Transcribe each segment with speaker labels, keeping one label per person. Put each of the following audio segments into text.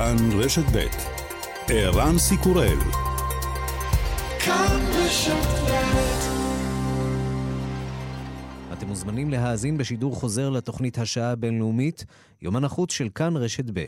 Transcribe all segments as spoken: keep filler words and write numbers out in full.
Speaker 1: כאן רשת ב' ערן סיקורל. כאן רשת ב'. אתם מוזמנים להאזין בשידור חוזר לתוכנית השעה הבינלאומית, יומן החוץ של כאן רשת ב'.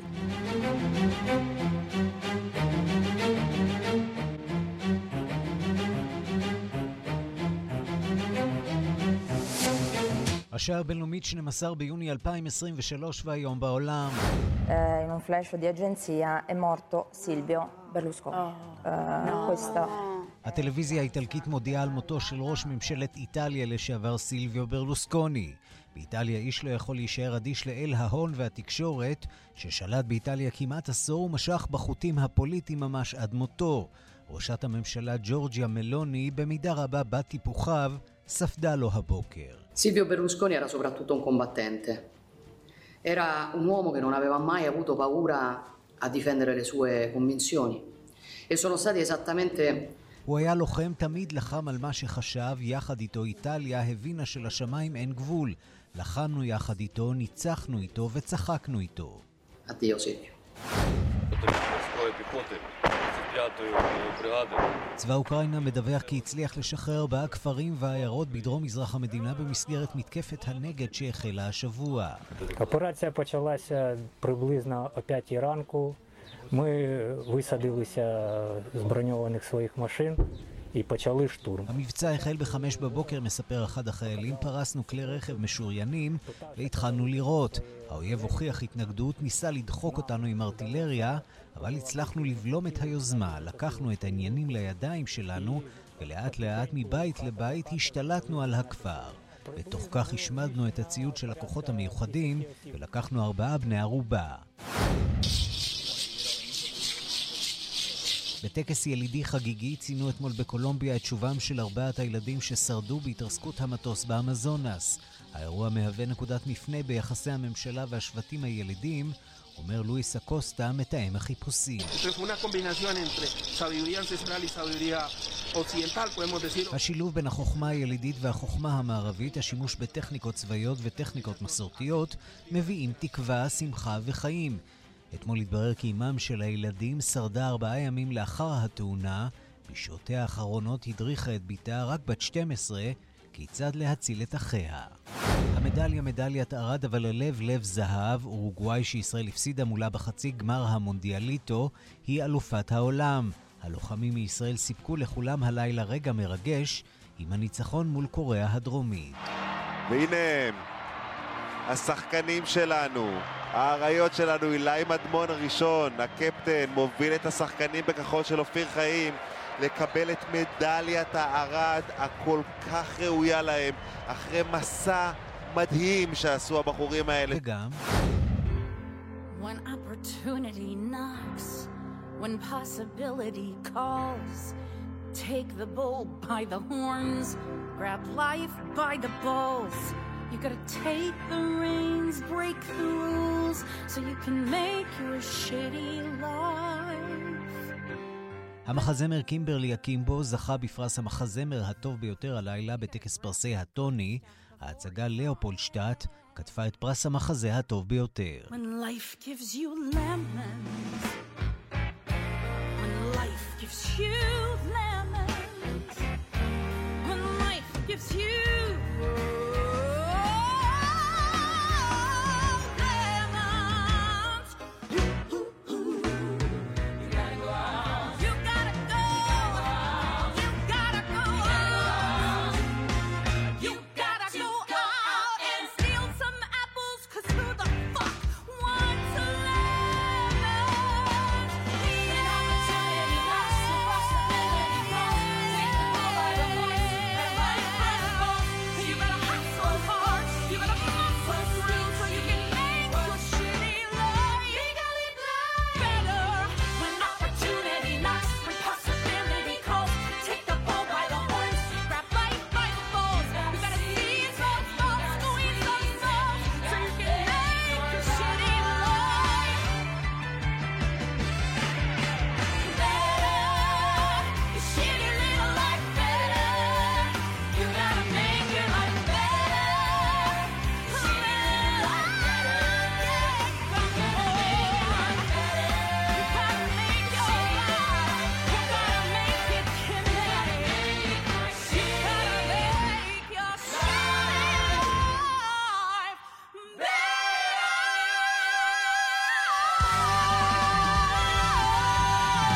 Speaker 1: השעה הבינלאומית שנים עשר ביוני אלפיים עשרים ושלוש והיום בעולם.
Speaker 2: In un flash di agenzia è morto Silvio Berlusconi. questo
Speaker 3: הטלוויזיה האיטלקית מודיעה על מותו של ראש ממשלת איטליה לשעבר סילביו ברלוסקוני. באיטליה איש לא יכול להישאר אדיש לאל ההון והתקשורת, ששלט באיטליה כמעט עשור ומשך בחוטים הפוליטיים ממש עד מותו. ראשת הממשלה ג'ורג'יה מלוני, במידה רבה בת טיפוחיו, ספדה לו הבוקר.
Speaker 4: Silvio Berlusconi era soprattutto un combattente. Era un uomo che non aveva mai avuto paura a difendere le sue convinzioni. E sono stati esattamente...
Speaker 3: הוא היה לוחם, תמיד לחם על מה שחשב, יחד איתו איטליה הבינה שלשמיים אין גבול. לחמנו יחד איתו, ניצחנו איתו וצחקנו איתו.
Speaker 4: Addio Silvio.
Speaker 3: צבא אוקראינה מדווח כי הצליח לשחרר ארבעה כפרים ועיירות בדרום מזרח המדינה במסגרת מתקפת הנגד שהחלה השבוע.
Speaker 5: Операція почалася приблизно о п'ятій ранку. Ми висадилися з броньованих своїх машин і почали штурм.
Speaker 3: המבצע החל בחמש בבוקר, מספר אחד החיילים. פרסנו כלי רכב משוריינים והתחלנו לירות. האויב הוכיח התנגדות, ניסה לדחוק אותנו עם ארטילריה, אבל הצלחנו לבלום את היוזמה. לקחנו את העניינים לידיים שלנו ולאט לאט מבית לבית השתלטנו על הכפר. בתוך כך השמדנו את הציוד של הכוחות המיוחדים ולקחנו ארבעה בני ערובה. בטקס ילידי חגיגי ציינו אתמול בקולומביה את שובם של ארבעת הילדים ששרדו בהתרסקות המטוס באמזונס. האירוע מהווה נקודת מפנה ביחסי הממשלה והשבטים הילידים, אומר לואיס אקוסטה, מתאם החיפושים. השילוב בין החוכמה הילידית והחוכמה המערבית, השימוש בטכניקות צבאיות וטכניקות מסורתיות, מביאים תקווה, שמחה וחיים. אתמול התברר כי אמם של הילדים שרדה ארבעה ימים לאחר התאונה. בשעותיה האחרונות הדריכה את ביתה, רק בת שתים עשרה, כיצד להציל את אחיה. המדליה מדליית ארד, אבל הלב לב זהב. אורוגוואי שישראל הפסידה מולה בחצי גמר המונדיאליטו היא אלופת העולם. הלוחמים מישראל סיפקו לכולם הלילה רגע מרגש עם הניצחון מול קוריאה הדרומית.
Speaker 6: והנה הם, השחקנים שלנו, האריות שלנו. אילי מדמון הראשון, הקפטן, מוביל את השחקנים בכחול של אופיר חיים לקבל את מדליית הארד הכל כך ראויה להם אחרי מסע מדהים שעשו הבחורים האלה.
Speaker 3: וגם
Speaker 7: When opportunity knocks, when possibility calls, take the bull by the horns, grab life by the balls. You gotta take the reins, break the rules, so you can make your shitty life.
Speaker 3: המחזמר קימברלי אקימבו זכה בפרס המחזמר הטוב ביותר הלילה בטקס פרסי הטוני. ההצגה לאופולשטאט כתבה את פרס המחזה הטוב ביותר.
Speaker 7: When life gives you lemons, when life gives you lemons, when life gives you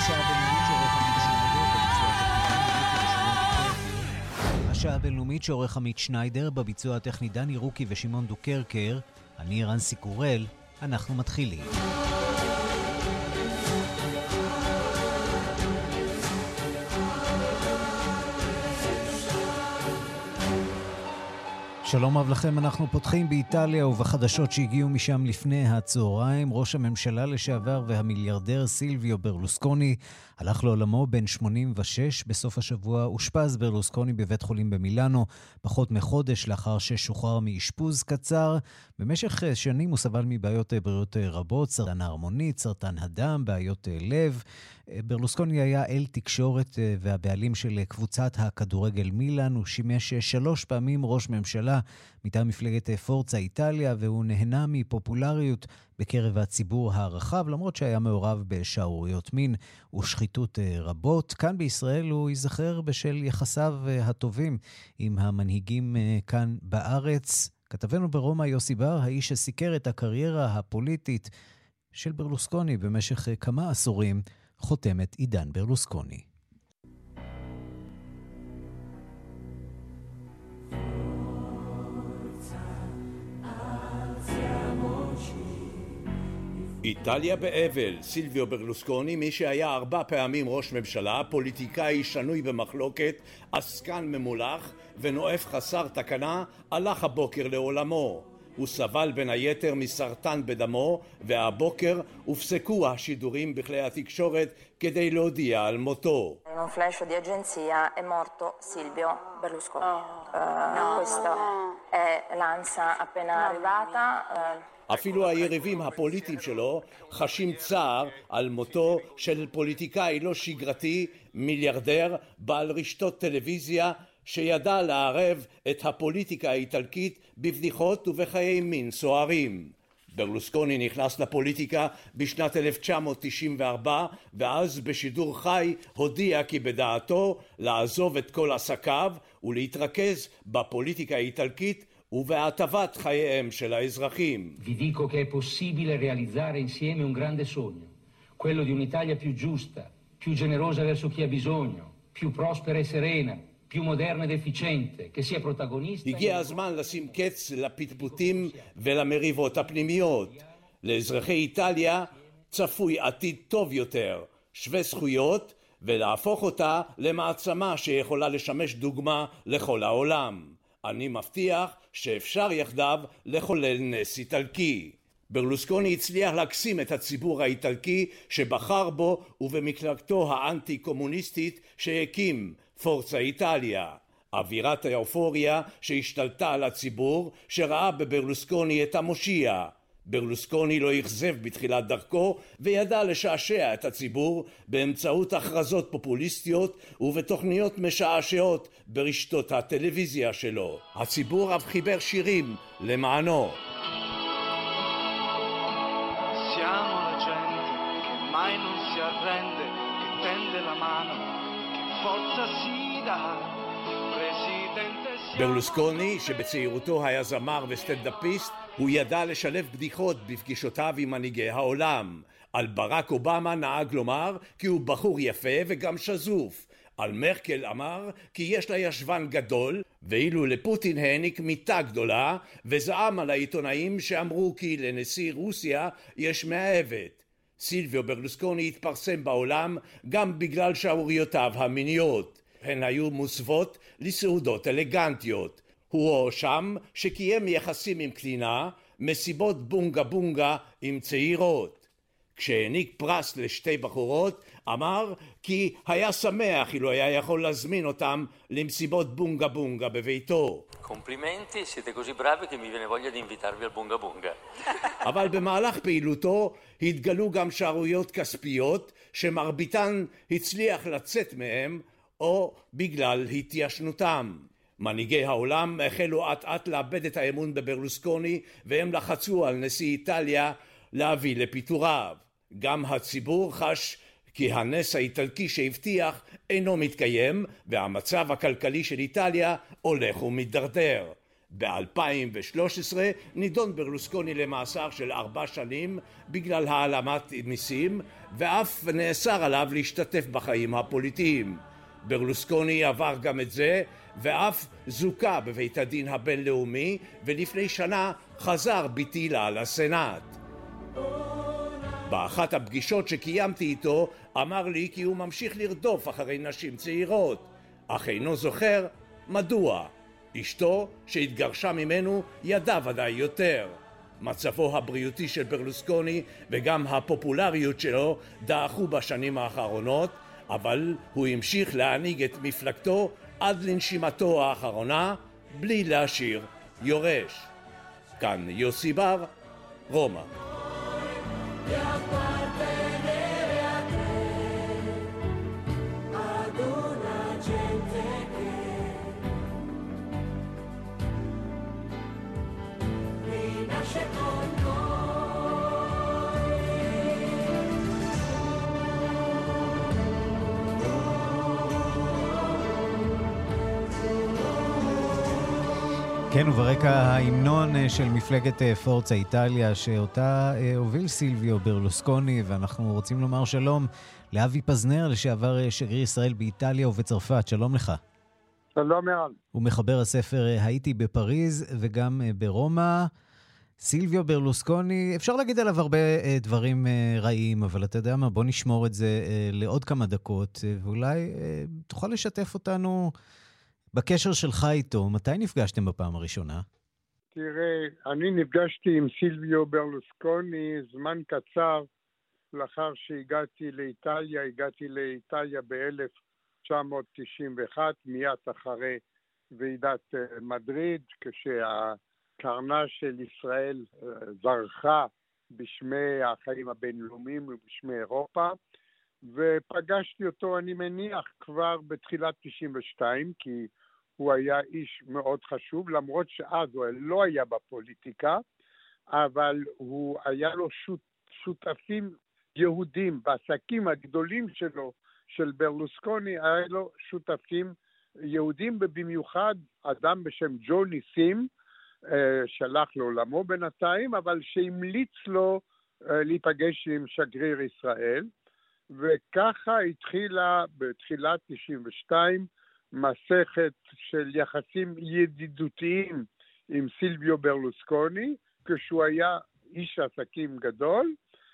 Speaker 3: השעה הבינלאומית שעורך עמית שניידר, בביצוע הטכני דני רוקי ושמעון דוקרקר. אני רנסי קורל, אנחנו מתחילים. שלום רב לכם, אנחנו פותחים באיטליה ובחדשות שהגיעו משם לפני הצהריים. ראש הממשלה לשעבר והמיליארדר סילביו ברלוסקוני הלך לעולמו בן שמונים ושש. בסוף השבוע אושפז ברלוסקוני בבית חולים במילאנו, פחות מחודש לאחר ששוחרר מאשפוז קצר. במשך שנים הוא סבל מבעיות בריאות רבות, סרטן ההרמונית, סרטן הדם, בעיות לב. ברלוסקוני היה אל תקשורת והבעלים של קבוצת הכדורגל מילאן. הוא שימש שלוש פעמים ראש ממשלה מטעם מפלגת פורצה איטליה, והוא נהנה מפופולריות בקרב הציבור הרחב, למרות שהיה מעורב בשערוריות מין ושחיתות רבות. כאן בישראל הוא ייזכר בשל יחסיו הטובים עם המנהיגים כאן בארץ. כתבנו ברומא יוסי בר, האיש שסיקר את הקריירה הפוליטית של ברלוסקוני במשך כמה עשורים, חותם את עידן ברלוסקוני.
Speaker 8: איטליה באבל. סילביו ברלוסקוני, מי שהיה ארבע פעמים ראש ממשלה, פוליטיקאי שנוי במחלוקת, עסקן ממולח ונואף חסר תקנה, הלך הבוקר לעולמו. הוא סבל בין היתר מסרטן בדמו, והבוקר הופסקו השידורים בכלי התקשורת כדי להודיע על מותו.
Speaker 2: In un flash di agenzia è morto Silvio Berlusconi. Questo è l'ANSA appena arrivata.
Speaker 8: אפילו היריבים הפוליטיים שלו חשים צער על מותו של פוליטיקאי לא שגרתי, מיליארדר, בעל רשתות טלוויזיה, שידע לערב את הפוליטיקה האיטלקית בבדיחות ובחיי מין סוערים. ברלוסקוני נכנס לפוליטיקה בשנת אלף תשע מאות תשעים וארבע, ואז בשידור חי הודיע כי בדעתו לעזוב את כל עסקיו ולהתרכז בפוליטיקה האיטלקית ובהטבת חייהם של האזרחים.
Speaker 9: Vi dico che è possibile realizzare insieme un grande sogno, quello di un'Italia più giusta, più generosa verso chi ha bisogno, più prospera e serena, più moderna ed efficiente, che sia protagonista.
Speaker 8: הגיע הזמן לשים קץ לפטפוטים ולמריבות הפנימיות. לאזרחי איטליה צפוי עתיד טוב יותר, שווה זכויות, ולהפוך אותה למעצמה שיכולה לשמש דוגמה לכל העולם. אני מבטיח שאפשר יחדיו לחולל נס איטלקי. ברלוסקוני הצליח להקסים את הציבור האיטלקי שבחר בו ובמפלגתו האנטי-קומוניסטית שהקים, פורצה איטליה. אווירת האופוריה שהשתלטה על הציבור שראה בברלוסקוני את המושיע. ברלוסקוני לא הכזב בתחילת דרכו וידע לשעשע את הציבור באמצעות הכרזות פופוליסטיות ובתוכניות משעשעות ברשתות הטלוויזיה שלו. הציבור אף חיבר שירים למענו.
Speaker 10: Siamo la gente che mai non si arrende, che tende la mano, che forza si dà.
Speaker 8: ברלוסקוני, שבצעירותו היה זמר וסטנדאפיסט, הוא ידע לשלב בדיחות בפגישותיו עם מנהיגי העולם. על ברק אובמה נהג לומר כי הוא בחור יפה וגם שזוף. על מרקל אמר כי יש לה ישבן גדול, ואילו לפוטין העניק מיטה גדולה, וזעם על העיתונאים שאמרו כי לנשיא רוסיה יש מאהבת. סילביו ברלוסקוני התפרסם בעולם גם בגלל שערוריותיו המיניות. הן היו מוסוות לסעודות אלגנטיות. הוא הואשם שקיים יחסים עם קלינה, מסיבות בונגה בונגה עם צעירות. כשהעניק פרס לשתי בחורות, אמר כי היה שמח אילו היה יכול להזמין אותם למסיבות בונגה בונגה בביתו.
Speaker 11: Complimenti, siete così bravi che mi viene voglia di invitarvi al bunga bunga.
Speaker 8: אבל במהלך פעילותו התגלו גם שערויות כספיות שמרביתן הצליח לצאת מהם או בגלל התיישנותם. מנהיגי העולם החלו עט עט לאבד את האמון בברלוסקוני, והם לחצו על נשיא איטליה להביא לפיטוריו. גם הציבור חש כי הנס האיטלקי שהבטיח אינו מתקיים, והמצב הכלכלי של איטליה הולך ומתדרדר. ב-אלפיים ושלוש עשרה נידון ברלוסקוני למאסר של ארבע שנים בגלל העלמת מיסים, ואף נאסר עליו להשתתף בחיים הפוליטיים. ברלוסקוני עבר גם את זה, ואף זוכה בבית הדין הבינלאומי, ולפני שנה חזר בתהילה לסנאט. באחת הפגישות שקיימתי איתו אמר לי כי הוא ממשיך לרדוף אחרי נשים צעירות, אך אינו זוכר מדוע. אשתו שהתגרשה ממנו ידע ודאי יותר. מצבו הבריאותי של ברלוסקוני וגם הפופולריות שלו דעכו בשנים האחרונות, אבל הוא המשיך להנהיג את מפלגתו עד לנשימתו האחרונה בלי להשאיר יורש. כאן יוסי בר, רומא.
Speaker 3: כן, וברקע ההמנון של מפלגת פורצה איטליה, שאותה הוביל סילביו ברלוסקוני, ואנחנו רוצים לומר שלום לאבי פזנר, לשעבר שגריר ישראל באיטליה ובצרפת. שלום לך.
Speaker 12: שלום ערן.
Speaker 3: הוא מחבר הספר הייתי בפריז וגם ברומא. סילביו ברלוסקוני, אפשר להגיד עליו הרבה דברים רעים, אבל אתה יודע מה, בוא נשמור את זה לעוד כמה דקות, ואולי תוכל לשתף אותנו בקשר שלך איתו. מתי נפגשתם בפעם הראשונה?
Speaker 12: תראה, אני נפגשתי עם סילביו ברלוסקוני זמן קצר לאחר שהגעתי לאיטליה. הגעתי לאיטליה ב-אלף תשע מאות תשעים ואחת, מיד אחרי ועידת מדריד, כשהקרנה של ישראל זרחה בשמי החיים הבינלאומיים ובשמי אירופה, ופגשתי אותו, אני מניח, כבר בתחילת תשעים ושתיים, כי הוא היה איש מאוד חשוב, למרות שאז הוא לא היה בפוליטיקה, אבל הוא היה לו שות, שותפים יהודים בעסקים הגדולים שלו, של ברלוסקוני, היה לו שותפים יהודים, ובמיוחד אדם בשם ג'ון ניסים, שלח לעולמו בינתיים, אבל שהמליץ לו להיפגש עם שגריר ישראל, וככה התחילה בתחילת תשעים ושתיים מסכת של יחסים ידידותיים עם סילביו ברלוסקוני, כשהוא היה איש עסקים גדול,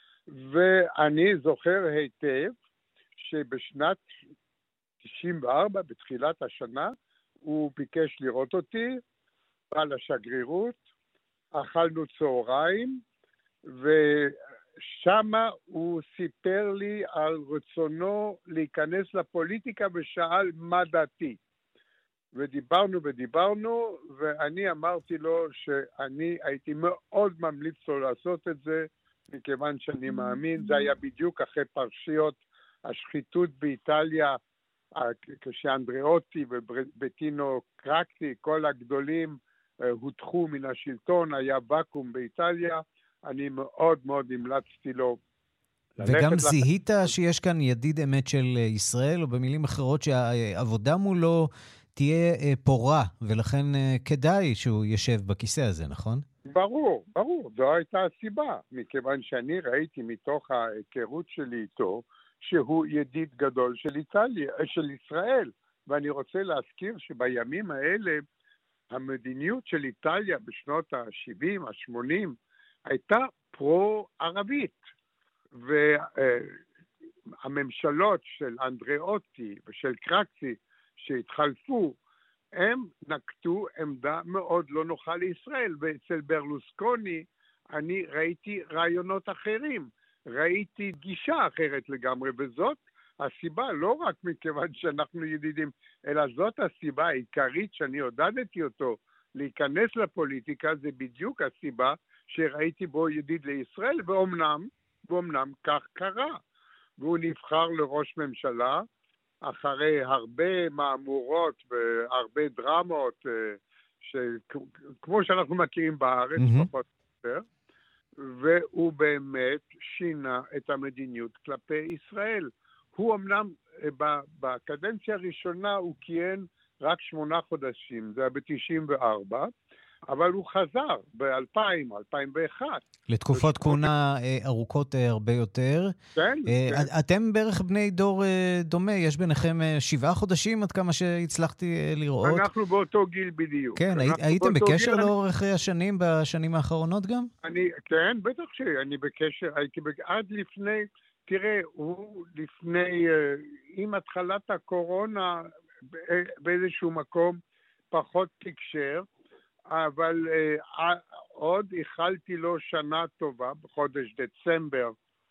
Speaker 12: ואני זוכר היטב שבשנת תשעים וארבע, בתחילת השנה, הוא ביקש לראות אותי, בא לשגרירות, אכלנו צהריים, ושמה הוא סיפר לי על רצונו להיכנס לפוליטיקה ושאל מה דעתי. ודיברנו ודיברנו, ואני אמרתי לו שאני הייתי מאוד ממליץ לו לעשות את זה, מכיוון שאני מאמין, זה היה בדיוק אחרי פרשיות השחיתות באיטליה, כשאנדריאוטי ובטינו קרקטי, כל הגדולים הודחו מן השלטון, היה ואקום באיטליה, אני מאוד מאוד המלצתי לו.
Speaker 3: וגם זיהית שיש כאן ידיד אמת של ישראל, או במילים אחרות שהעבודה מולו תהיה פורה, ולכן כדאי שהוא ישב בכיסא הזה, נכון?
Speaker 12: ברור, ברור, זו הייתה הסיבה, מכיוון שאני ראיתי מתוך ההיכרות שלי איתו, שהוא ידיד גדול של איטליה, של ישראל, ואני רוצה להזכיר שבימים האלה, המדיניות של איטליה בשנות ה-שבעים, ה-שמונים, הייתה פרו-ערבית, והממשלות של אנדריאוטי ושל קרקטי שהתחלפו, הם נקטו עמדה מאוד לא נוחה לישראל, ואצל ברלוסקוני אני ראיתי רעיונות אחרים, ראיתי גישה אחרת לגמרי, וזאת הסיבה, לא רק מכיוון שאנחנו ידידים, אלא זאת הסיבה העיקרית שאני עודדתי אותו להיכנס לפוליטיקה, זה בדיוק הסיבה שראיתי בו ידיד לישראל, ואומנם, ואומנם כך קרה. והוא נבחר לראש ממשלה, אחרי הרבה מאמורות והרבה דרמות, כמו שאנחנו מכירים בארץ, mm-hmm. פחות יותר, והוא באמת שינה את המדיניות כלפי ישראל. הוא אמנם, בקדנציה הראשונה הוא כיהן רק שמונה חודשים, זה היה ב-תשעים וארבע, אבל הוא חזר ב-אלפיים או אלפיים ואחת.
Speaker 3: לתקופות כהונה ארוכות הרבה יותר.
Speaker 12: כן.
Speaker 3: אתם בערך בני דור דומה, יש ביניכם שבעה חודשים עד כמה שהצלחתי לראות.
Speaker 12: אנחנו באותו גיל בדיוק.
Speaker 3: כן, הייתם בקשר לאורך השנים, בשנים האחרונות גם?
Speaker 12: אני, כן, בטח שאני בקשר, הייתי עד לפני, תראה, הוא לפני, עם התחלת הקורונה, באיזשהו מקום פחות תקשר, אבל uh, עוד איחלתי לו שנה טובה בחודש דצמבר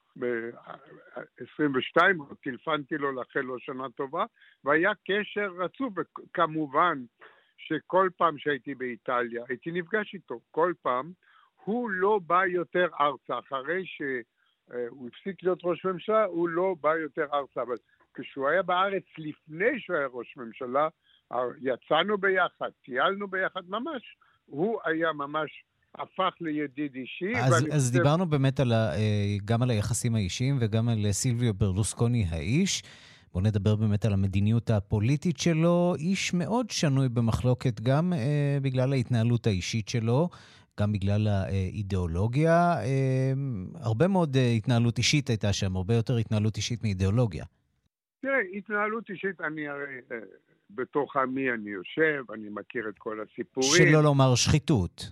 Speaker 12: ב-עשרים ושתיים, טלפנתי לו לאחל לו שנה טובה, והיה קשר רצוף, וכמובן שכל פעם שהייתי באיטליה, הייתי נפגש איתו, כל פעם, הוא לא בא יותר ארצה, אחרי שהוא הפסיק להיות ראש ממשלה, הוא לא בא יותר ארצה, אבל כשהוא היה בארץ לפני שהוא היה ראש ממשלה, יצאנו ביחד, טיילנו ביחד, ממש, הוא היה ממש הפך לידיד אישי.
Speaker 3: אז, אז חושב... דיברנו באמת על ה, גם על היחסים האישיים וגם על סילביו ברלוסקוני האיש. בואו נדבר באמת על המדיניות הפוליטית שלו. איש מאוד שנוי במחלוקת גם אה, בגלל ההתנהלות האישית שלו, גם בגלל האידיאולוגיה. אה, הרבה מאוד התנהלות אישית הייתה שם, הרבה יותר התנהלות אישית מאידיאולוגיה.
Speaker 12: תראה, התנהלות אישית, אני הרי... בתוך עמי אני יושב, אני מכיר את כל הסיפורים.
Speaker 3: שלא לומר שחיתות.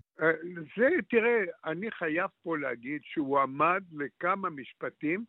Speaker 12: זה, תראה, אני חייב פה להגיד שהוא עמד לכמה משפטים,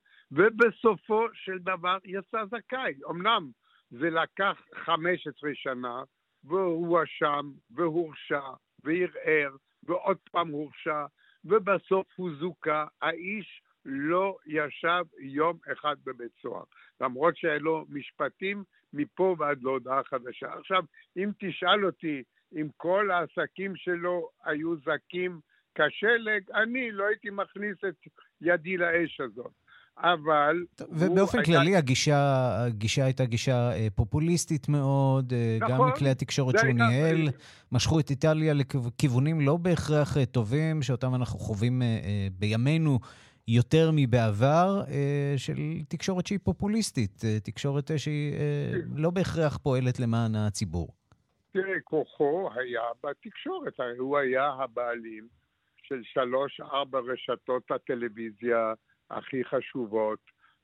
Speaker 12: ובסופו של דבר יצא זכאי. אמנם זה לקח חמש עשרה שנה, והוא הואשם, והורשע, וערער, ועוד פעם הורשע, ובסוף הוא זוכה. האיש לא ישב יום אחד בבית סוהר. למרות שהיה לו משפטים, מפה ועד להודעה חדשה. עכשיו, אם תשאל אותי, אם כל העסקים שלו היו זקים כשלג, אני לא הייתי מכניס את ידי לאש הזאת. אבל...
Speaker 3: ובאופן כללי, היה... הגישה, הגישה הייתה גישה פופוליסטית מאוד, נכון, גם מכלי התקשורת שהוא ניהל, משכו את איטליה לכיוונים לא בהכרח טובים, שאותם אנחנו חווים בימינו, יותר מבעבר, של תקשורת שהיא פופוליסטית, תקשורת שהיא לא בהכרח פועלת למען הציבור.
Speaker 12: תראה, כוחו היה בתקשורת, הוא היה הבעלים של שלוש, ארבע רשתות הטלוויזיה הכי חשובות,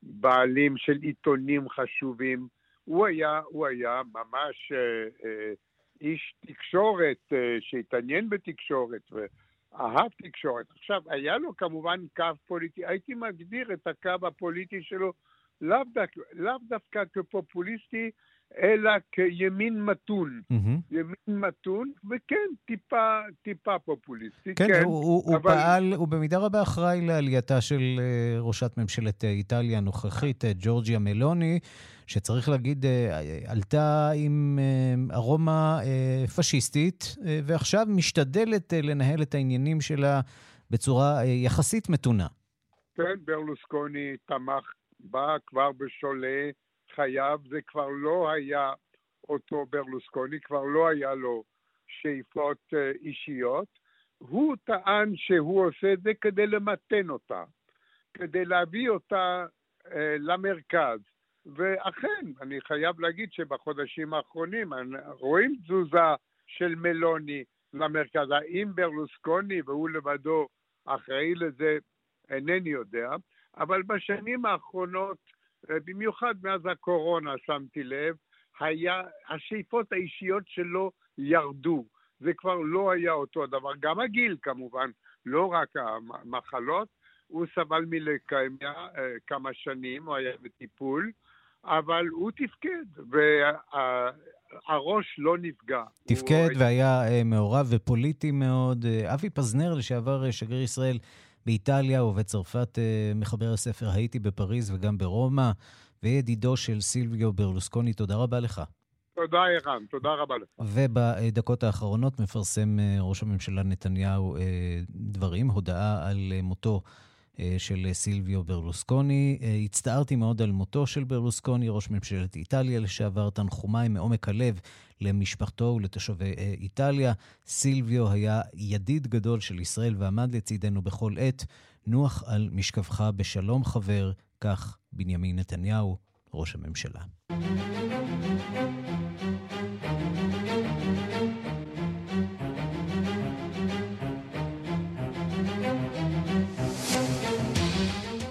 Speaker 12: בעלים של עיתונים חשובים, הוא היה, הוא היה ממש אה, איש תקשורת אה, שהתעניין בתקשורת ו... אהב תקשורת. עכשיו, היה לו כמובן קו פוליטי, הייתי מגדיר את הקו הפוליטי שלו לאו דווקא, לאו דווקא כפופוליסטי, אלא כימין מתון. Mm-hmm. ימין מתון, וכן, טיפה, טיפה פופוליסטי.
Speaker 3: כן,
Speaker 12: כן
Speaker 3: הוא, הוא,
Speaker 12: אבל...
Speaker 3: הוא פעל, הוא במידה רבה אחראי לעלייתה של ראשת ממשלת איטליה הנוכחית, ג'ורג'יה מלוני, שצריך להגיד, עלתה עם ארומה פשיסטית, ועכשיו משתדלת לנהל את העניינים שלה בצורה יחסית מתונה.
Speaker 12: כן, ברלוסקוני תמך בה כבר בשולי חייו, זה כבר לא היה אותו ברלוסקוני, כבר לא היה לו שאיפות אישיות. הוא טען שהוא עושה את זה כדי למתן אותה, כדי להביא אותה למרכז. ואכן, אני חייב להגיד שבחודשים האחרונים רואים תזוזה של מלוני למרכז. האם ברלוסקוני והוא לבדו אחראי לזה, אינני יודע, אבל בשנים האחרונות, במיוחד מאז הקורונה, שמתי לב, היה, השאיפות האישיות שלו ירדו. זה כבר לא היה אותו הדבר. גם הגיל כמובן, לא רק המחלות. הוא סבל מלקמיה כמה שנים, הוא היה בטיפול, אבל הוא תפקד, והראש לא נפגע.
Speaker 3: תפקד
Speaker 12: הוא...
Speaker 3: והיה מעורב ופוליטי מאוד. אבי פזנר, לשעבר שגריר ישראל באיטליה ובצרפת, מחבר הספר הייתי בפריז וגם ברומא, וידידו של סילביו ברלוסקוני, תודה רבה לך.
Speaker 12: תודה ערן, תודה רבה לך.
Speaker 3: ובדקות האחרונות מפרסם ראש הממשלה נתניהו דברים, הודעה על מותו של סילביו ברלוסקוני. הצטערתי מאוד על מותו של ברלוסקוני, ראש ממשלת איטליה לשעבר, תנחומיי מעומק הלב למשפחתו ולתושבי איטליה. סילביו היה ידיד גדול של ישראל ועמד לצידנו בכל עת. נוח על משכבך בשלום חבר, כך בנימין נתניהו, ראש הממשלה.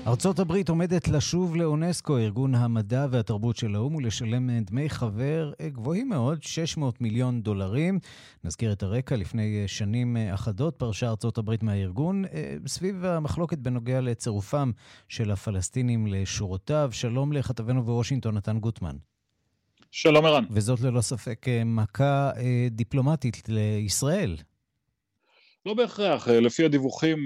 Speaker 3: ארצות הברית עומדת לשוב לאונסקו, ארגון המדע והתרבות של האו"ם, ולשלם דמי חבר גבוהים מאוד, שש מאות מיליון דולרים. נזכיר את הרקע, לפני שנים אחדות פרשה ארצות הברית מהארגון, סביב המחלוקת בנוגע לצירופם של הפלסטינים לשורותיו. שלום לכתבנו בוושינגטון, נתן גוטמן.
Speaker 13: שלום ערן.
Speaker 3: וזאת ללא ספק מכה דיפלומטית לישראל.
Speaker 13: לא בהכרח, לפי הדיווחים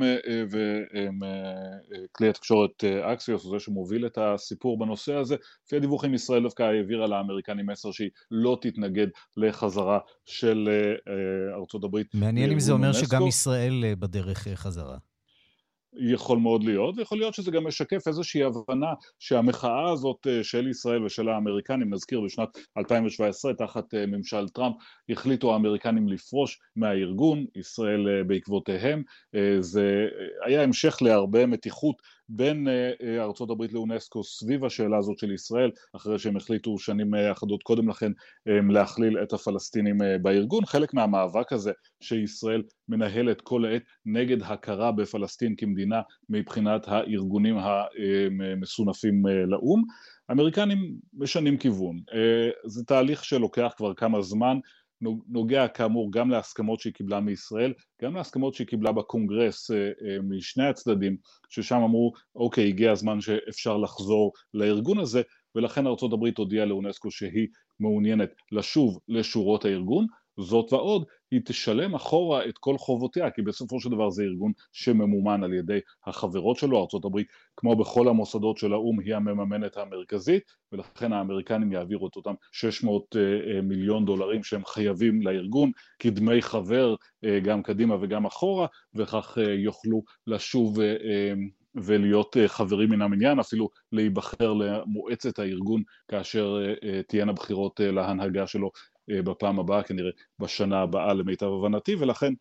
Speaker 13: וכלי התקשורת אקסיוס, זה שמוביל את הסיפור בנושא הזה, לפי הדיווחים ישראל דווקא העבירה לאמריקנים מסר שהיא לא תתנגד לחזרה של ארצות הברית.
Speaker 3: מעניין אם זה אומר שגם ישראל בדרך חזרה.
Speaker 13: יכול מאוד להיות, ויכול להיות שזה גם משקף איזושהי הבנה שהמחאה הזאת של ישראל ושל האמריקנים, נזכיר בשנת אלפיים שבע עשרה תחת ממשל טראמפ, החליטו האמריקנים לפרוש מהארגון, ישראל בעקבותיהם. זה היה המשך להרבה מתיחות בין ארצות הברית לאונסקו סביב השאלה הזאת של ישראל, אחרי שהם החליטו שנים אחדות קודם לכן להכליל את הפלסטינים בארגון. חלק מהמאבק הזה שישראל מנהלת כל העת נגד הכרה בפלסטין כמדינה מבחינת הארגונים המסונפים לאום. האמריקנים משנים כיוון. זה תהליך שלוקח כבר כמה זמן, נוגע כאמור גם להסכמות שהיא קיבלה מישראל, גם להסכמות שהיא קיבלה בקונגרס משני הצדדים, ששם אמרו, אוקיי, הגיע הזמן שאפשר לחזור לארגון הזה, ולכן ארצות הברית הודיעה לאונסקו שהיא מעוניינת לשוב לשורות הארגון. זאת ועוד, היא תשלם אחורה את כל חובותיה, כי בסופו של דבר זה ארגון שממומן על ידי החברות שלו. ארצות הברית, כמו בכל המוסדות של האו"ם, היא המממנת המרכזית, ולכן האמריקנים יעבירו את אותם שש מאות מיליון דולרים שהם חייבים לארגון, כדמי חבר גם קדימה וגם אחורה, וכך יוכלו לשוב ולהיות חברים מן המניין, אפילו להיבחר למועצת הארגון, כאשר תהיינה בחירות להנהגה שלו בפעם הבאה, כנראה בשנה הבאה למיטב הבנתי, ולכן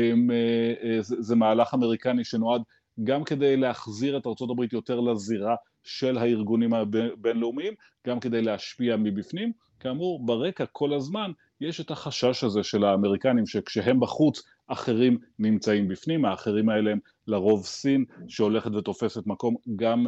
Speaker 13: זה מהלך אמריקני שנועד גם כדי להחזיר את ארצות הברית יותר לזירה של הארגונים הבינלאומיים, גם כדי להשפיע מבפנים. כאמור, ברקע כל הזמן יש את החשש הזה של האמריקנים, שכשהם בחוץ, אחרים נמצאים בפנים. האחרים האלה הם לרוב סין, שהולכת ותופסת מקום גם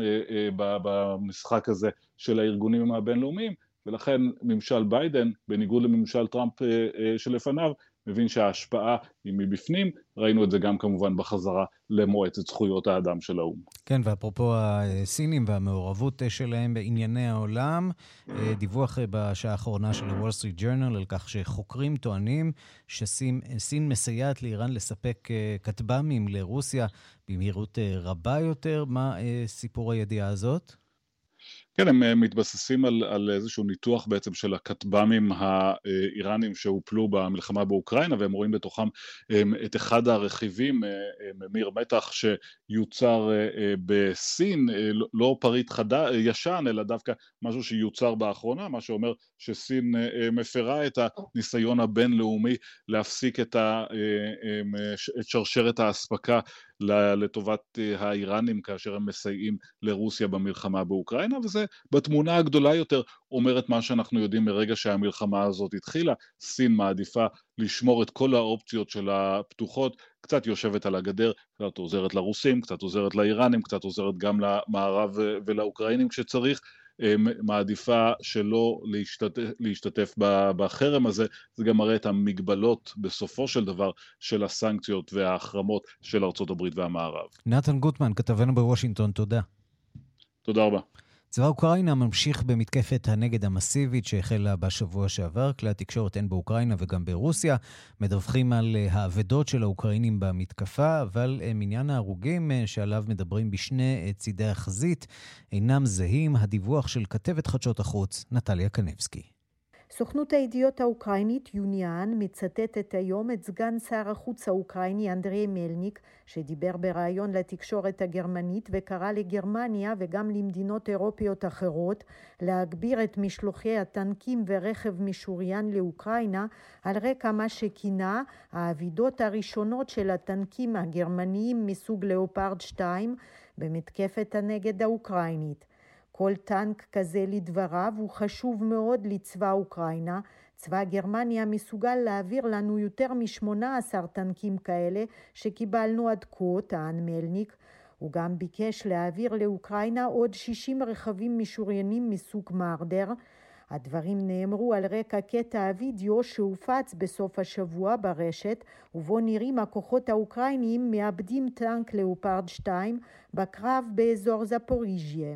Speaker 13: במשחק הזה של הארגונים הבינלאומיים, ולכן ממשל ביידן, בניגוד לממשל טראמפ שלפניו, מבין שההשפעה היא מבפנים. ראינו את זה גם כמובן בחזרה למועצת זכויות האדם של האו"ם.
Speaker 3: כן, ואפרופו הסינים והמעורבות שלהם בענייני העולם, דיווח בשעה האחרונה של הוול סטריט ג'ורנל על כך שחוקרים טוענים שסין מסייעת לאיראן לספק כטב"מים לרוסיה במהירות רבה יותר. מה סיפור הידיעה הזאת?
Speaker 13: כן, הם מתבססים על, על איזשהו ניתוח בעצם של הכטב"מים האיראנים שהופלו במלחמה באוקראינה, והם רואים בתוכם את אחד הרכיבים, ממיר מתח, שיוצר בסין, לא פריט חדה, ישן, אלא דווקא משהו שיוצר באחרונה, מה שאומר שסין מפרה את הניסיון הבינלאומי להפסיק את, ה, את שרשרת ההספקה לטובת האיראנים כאשר הם מסייעים לרוסיה במלחמה באוקראינה, וזה בתמונה הגדולה יותר אומר את מה שאנחנו יודעים מרגע שהמלחמה הזאת התחילה. סין מעדיפה לשמור את כל האופציות שלה פתוחות, קצת יושבת על הגדר, קצת עוזרת לרוסים, קצת עוזרת לאיראנים, קצת עוזרת גם למערב ולאוקראינים כשצריך, מעדיפה שלא להשתתף, להשתתף בחרם הזה. זה גם מראה את המגבלות בסופו של דבר של הסנקציות וההחרמות של ארצות הברית והמערב.
Speaker 3: נתן גוטמן, כתבנו בוושינגטון, תודה.
Speaker 13: תודה רבה.
Speaker 3: צבא אוקראינה ממשיך במתקפת הנגד המסיבית שהחלה בשבוע שעבר. כלי התקשורת הן באוקראינה וגם ברוסיה מדווחים על האבדות של האוקראינים במתקפה, אבל מניין ההרוגים שעליו מדברים בשני צידי החזית אינם זהים. הדיווח של כתבת חדשות החוץ נטליה קנבסקי.
Speaker 14: סוכנות הידיעות האוקראינית יוניאן מצטטת היום את סגן שר החוץ האוקראיני אנדרי מלניק, שדיבר בראיון לתקשורת הגרמנית וקרא לגרמניה וגם למדינות אירופיות אחרות להגביר את משלוחי הטנקים ורכב משוריין לאוקראינה, על רקע מה שכינה האבדות הראשונות של הטנקים הגרמניים מסוג לאופרד שתיים במתקפת הנגד האוקראינית. כל טנק כזה לדבריו הוא חשוב מאוד לצבא אוקראינה. צבא גרמניה מסוגל להעביר לנו יותר מ-שמונה עשר טנקים כאלה שקיבלנו עד כה, טען מלניק. הוא גם ביקש להעביר לאוקראינה עוד שישים רכבים משוריינים מסוג מרדר. הדברים נאמרו על רקע קטע הוידאו שהופץ בסוף השבוע ברשת, ובו נראים הכוחות האוקראיניים מאבדים טנק לאופרד שתיים בקרב באזור זפוריז'יה.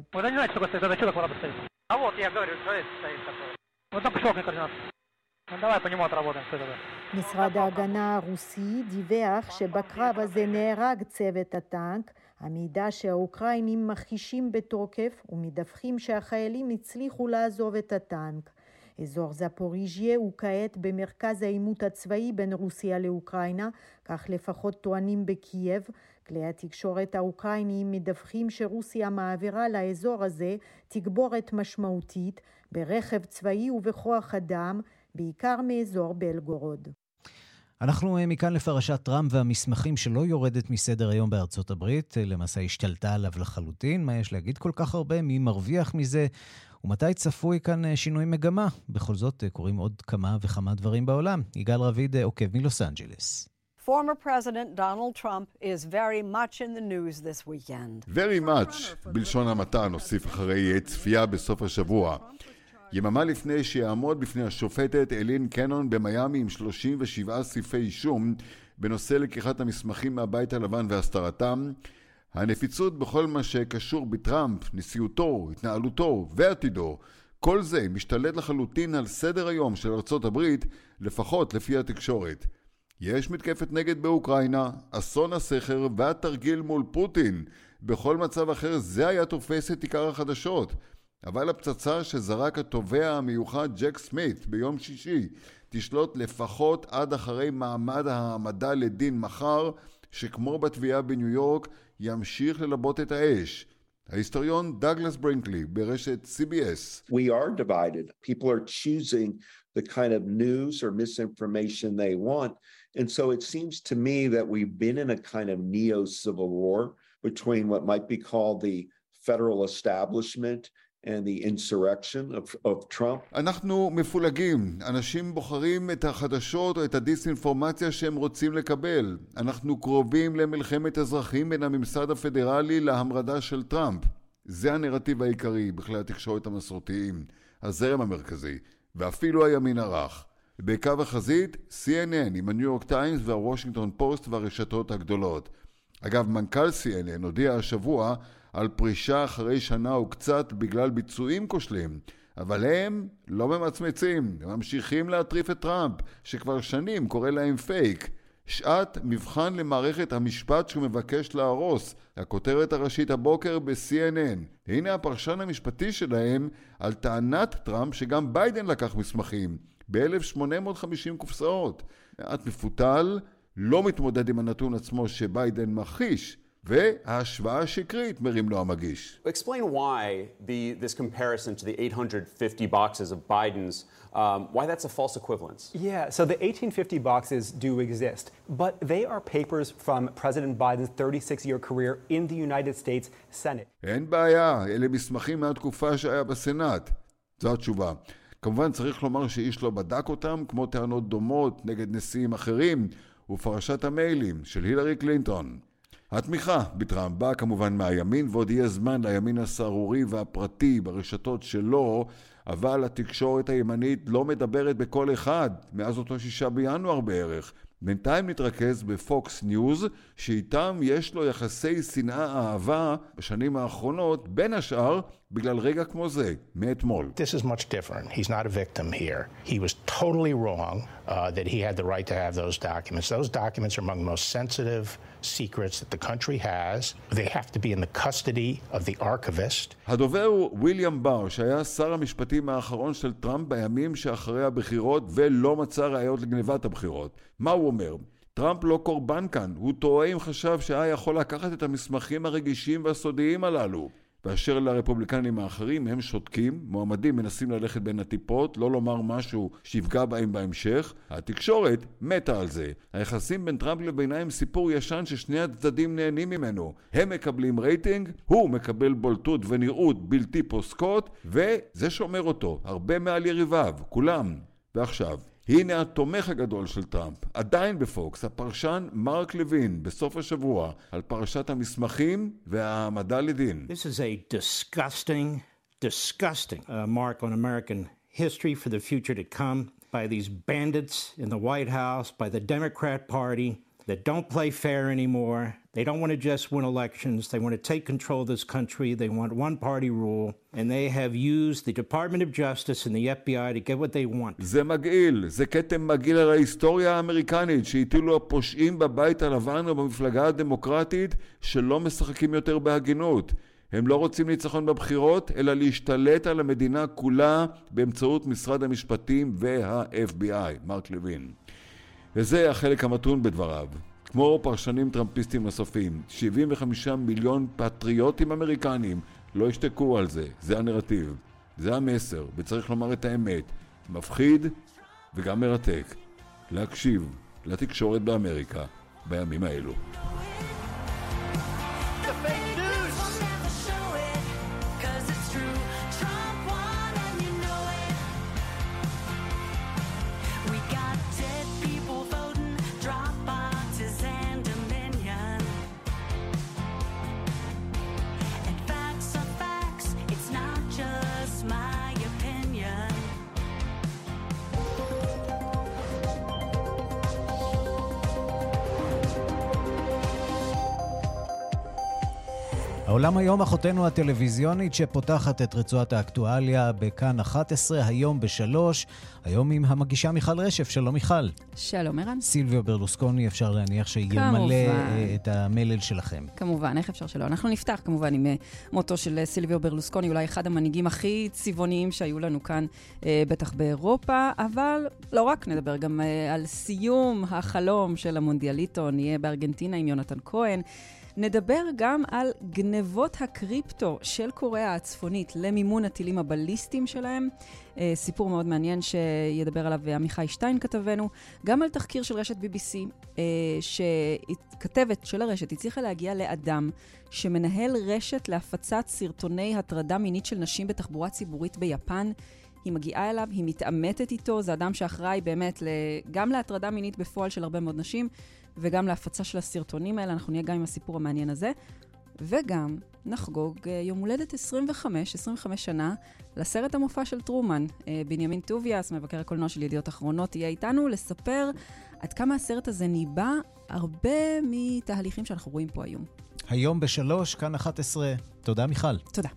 Speaker 14: משרד ההגנה הרוסי דיווח שבקרב הזה נהרג צוות הטנק. המידע שהאוקראינים מכחישים בתוקף ומדווחים שהחיילים הצליחו לעזוב את הטנק. אזור זפוריז'יה הוא כעת במרכז העימות הצבאי בין רוסיה לאוקראינה, כך לפחות טוענים בקייב. כלי התקשורת האוקראיניים מדווחים שרוסיה מעבירה לאזור הזה תגבורת משמעותית ברכב צבאי ובכוח אדם, בעיקר מאזור בלגורוד.
Speaker 3: אנחנו מכאן לפרשת טראמפ והמסמכים שלא יורדת מסדר היום בארצות הברית, למעשה השתלטה עליו לחלוטין. מה יש להגיד כל כך הרבה? מי מרוויח מזה? ומתי צפוי כאן שינוי מגמה? בכל זאת קורים עוד כמה וכמה דברים בעולם. יגאל רביד עוקב מלוס אנג'לס.
Speaker 15: Former President Donald Trump is very much in the news this weekend.
Speaker 16: Very much, בלשון המעטה, נוסיף אחרי צפייה בסוף השבוע. יממה לפני שיעמוד בפני השופטת אלין קנון במיימי עם שלושים ושבעה סעיפי אישום בנושא לקיחת המסמכים מהבית הלבן והסתרתם, הנפיצות בכל מה שקשור בטראמפ, נשיאותו, התנהלותו ועתידו, כל זה משתלט לחלוטין על סדר היום של ארצות הברית, לפחות לפי התקשורת. יש מתקפת נגד באוקראינה, אסון הסכר והתרגיל מול פוטין. בכל מצב אחר זה היה תופס את עיקר החדשות. אבל הפצצה שזרק התובע המיוחד ג'ק סמית ביום שישי תשלוט לפחות עד אחרי מעמד העמדה לדין מחר, שכמו בתביעה בניו יורק ימשיך ללבות את האש. ההיסטוריון דאגלס ברינקלי ברשת סי בי אס.
Speaker 17: We are divided. People are choosing the kind of news or misinformation they want. And so it seems to me that we've been in a kind of neo-civil war between what might be called the federal establishment and the insurrection of, of Trump.
Speaker 16: אנחנו מפולגים. אנשים בוחרים את החדשות או את הדיסאינפורמציה שהם רוצים לקבל. אנחנו קרובים למלחמת אזרחים בין הממסד הפדרלי להמרדה של טראמפ. זה הנרטיב העיקרי בכלי התקשורת המסורתיים, הזרם המרכזי, ואפילו הימין הרך. בקו החזית, סי אן אן עם הניו יורק טיימס והוושינגטון פוסט והרשתות הגדולות. אגב, מנכ"ל סי אן אן הודיע השבוע על פרישה אחרי שנה וקצת בגלל ביצועים כושלים, אבל הם לא ממצמצים, הם ממשיכים להטריף את טראמפ, שכבר שנים קורא להם פייק. שעת מבחן למערכת המשפט שהוא מבקש להרוס, הכותרת הראשית הבוקר ב-סי אן אן. הנה הפרשן המשפטי שלהם על טענת טראמפ שגם ביידן לקח מסמכים, ב-אלף שמונה מאות וחמישים קופסאות. מעט מפותל, לא מתמודד עם הנתון עצמו שביידן מכחיש, וההשוואה השקרית מרים לו המגיש.
Speaker 18: Explain why the, this comparison to the eight hundred fifty boxes of Biden's, um, why that's a false equivalence.
Speaker 19: Yeah, so the eighteen fifty boxes do exist, but they are papers from President Biden's thirty-six year career in the United States Senate.
Speaker 16: אין בעיה, אלה מסמכים מהתקופה שהיה בסנאט. זו התשובה. כמובן צריך לומר שאיש לא בדק אותם, כמו טענות דומות נגד נשיאים אחרים, ופרשת המיילים של הילרי קלינטון. התמיכה בטראמפ באה כמובן מהימין, ועוד יהיה זמן לימין הסערורי והפרטי ברשתות שלו, אבל התקשורת הימנית לא מדברת בכל אחד, מאז אותו שישה בינואר בערך. בינתיים נתרכז בפוקס ניוז, שאיתם יש לו יחסי שנאה אהבה בשנים האחרונות, בין השאר בגלל רגע כמו זה, מאתמול.
Speaker 20: This is much different. He's not a victim here. He was totally wrong uh, that he had the right to have those documents. Those documents are among the most sensitive secrets that the country has. They have to be in the custody of the archivist.
Speaker 16: הדובר הוא וויליאם בר, שהיה שר המשפטים האחרון של טראמפ בימים שאחרי הבחירות ולא מצא ראיות לגניבת הבחירות. מה הוא אומר? טראמפ לא קורבן כאן. הוא טועה אם חשב שהיה יכול לקחת את המסמכים הרגישים והסודיים הללו. באשר לרפובליקנים האחרים, הם שותקים, מועמדים מנסים ללכת בין הטיפות, לא לומר משהו שיפגע בהם בהמשך. התקשורת מתה על זה. היחסים בין טראמפ לבינם סיפור ישן ששני הצדדים נהנים ממנו. הם מקבלים רייטינג, הוא מקבל בולטות ונראות בלתי פוסקות, וזה שומר אותו, הרבה מעל יריביו, כולם. ועכשיו, הנה התומך הגדול של טראמפ, עדיין בפוקס, הפרשן מרק לוין, בסוף השבוע, על פרשת המסמכים והעמדה לדין.
Speaker 21: This is a disgusting, disgusting uh, mark on American history for the future to come by these bandits in the White House, by the Democrat Party that don't play fair anymore. They don't want to just win elections. They want to take control of this country. They want one-party rule. And they have used the Department of Justice and the F B I to get what they want.
Speaker 16: זה מגעיל. זה כתם מגעיל על ההיסטוריה האמריקנית שהטילו הפושעים בבית הלבן ובמפלגה הדמוקרטית שלא משחקים יותר בהגינות. הם לא רוצים ניצחון בבחירות, אלא להשתלט על המדינה כולה באמצעות משרד המשפטים וה-אף בי איי, מרק לוין. וזה החלק המתון בדבריו. כמו פרשנים טראמפיסטים נוספים, שבעים וחמישה מיליון פטריוטים אמריקנים לא השתקו על זה. זה הנרטיב, זה המסר, וצריך לומר את האמת. מפחיד וגם מרתק. להקשיב לתקשורת באמריקה בימים האלו.
Speaker 3: העולם היום, אחותנו הטלוויזיונית שפותחת את רצועת האקטואליה בכאן אחת עשרה, היום בשלוש, היום עם המגישה מיכל רשף. שלום מיכל.
Speaker 22: שלום ערן.
Speaker 3: סילביו ברלוסקוני, אפשר להניח שימלא את המלל שלכם.
Speaker 22: כמובן, איך אפשר שלא? אנחנו נפתח כמובן עם מותו של סילביו ברלוסקוני, אולי אחד המנהיגים הכי צבעוניים שהיו לנו כאן, בטח באירופה, אבל לא רק, נדבר גם על סיום החלום של המונדיאליטו, נהיה בארגנטינה עם יונתן כהן, נדבר גם על גנבות הקריפטו של קוריאה הצפונית למימון הטילים הבליסטיים שלהם. סיפור מאוד מעניין שידבר עליו עמיחי שטיין כתבנו. גם על תחקיר של רשת בי בי סי, שכתבת של הרשת הצליחה להגיע לאדם שמנהל רשת להפצת סרטוני הטרדה מינית של נשים בתחבורה ציבורית ביפן. היא מגיעה אליו, היא מתאמתת איתו, זה אדם שאחראי באמת גם להטרדה מינית בפועל של הרבה מאוד נשים, וגם להפצה של הסרטונים האלה. אנחנו נהיה גם עם הסיפור המעניין הזה, וגם נחגוג יום הולדת עשרים וחמש, עשרים וחמש שנה לסרט המופע של טרומן. בנימין טוביאס, מבקר הקולנוע של ידיעות אחרונות, יהיה איתנו לספר עד כמה הסרט הזה ניבא הרבה מתהליכים שאנחנו רואים פה היום.
Speaker 3: היום בשלוש, כאן אחת עשרה. תודה מיכל.
Speaker 22: תודה.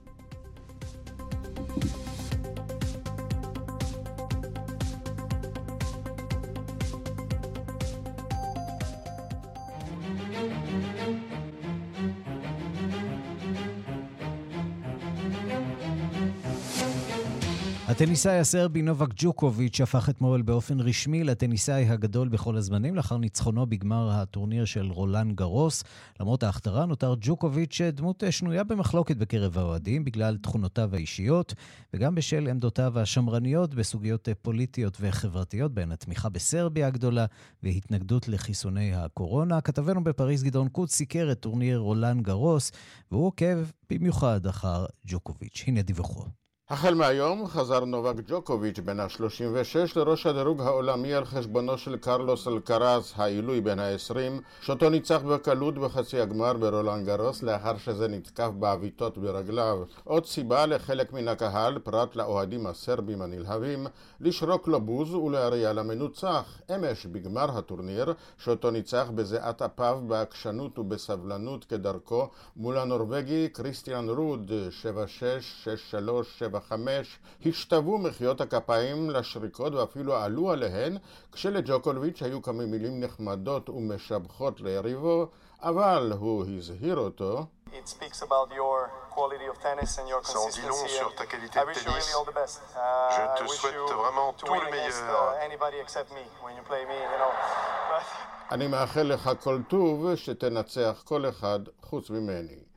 Speaker 3: הטניסאי הסרבי נובק ג'וקוביץ' הפך אתמול באופן רשמי לטניסאי הגדול בכל הזמנים לאחר ניצחונו בגמר הטורניר של רולאן גרוס. למרות ההכתרה נותר ג'וקוביץ' דמות שנויה במחלוקת בקרב האוהדים בגלל תכונותיו האישיות וגם בשל עמדותיו השמרניות בסוגיות פוליטיות וחברתיות, בהן התמיכה בסרביה הגדולה והתנגדות לחיסוני הקורונה. כתבנו בפריז גדעון קוץ סיקר את טורניר רולאן גרוס והוא עוקב במיוחד אחר ג'וקוביץ'. הנה דיווחו.
Speaker 23: החל מהיום חזר נובק ג'וקוביץ' בן ה-שלושים ושש לראש הדירוג העולמי על חשבונו של קרלוס אלקרז, העילוי בן ה-עשרים, שאותו ניצח בקלות בחצי הגמר ברולאן גרוס לאחר שזה נתקף בעביתות ברגליו. עוד סיבה לחלק מן הקהל, פרט לאוהדים הסרבים הנלהבים, לשרוק לו בוז ולהריע למנוצח. אמש בגמר הטורניר, שאותו ניצח בזיעת אפיו בעקשנות ובסבלנות כדרכו, מול הנורווגי קריסטיאן רוד, שבע שש, שש שלוש, שבע חמש, השתוו מחיאות הכפיים לשריקות ואפילו עלו עליהן, כשלג'וקוביץ' היו כמה מילים נחמדות ומשבחות ליריבו, אבל הוא הזהיר אותו.
Speaker 24: It speaks about your quality of tennis and your consistency. Ça en dit long sur ta qualité de tennis. I wish you really all the best. Uh, Je te souhaite vraiment tout le meilleur. Uh, anybody except me when you play me, you know. But...
Speaker 23: אני מאחל לך כל טוב שתנצח כל אחד חוץ ממני.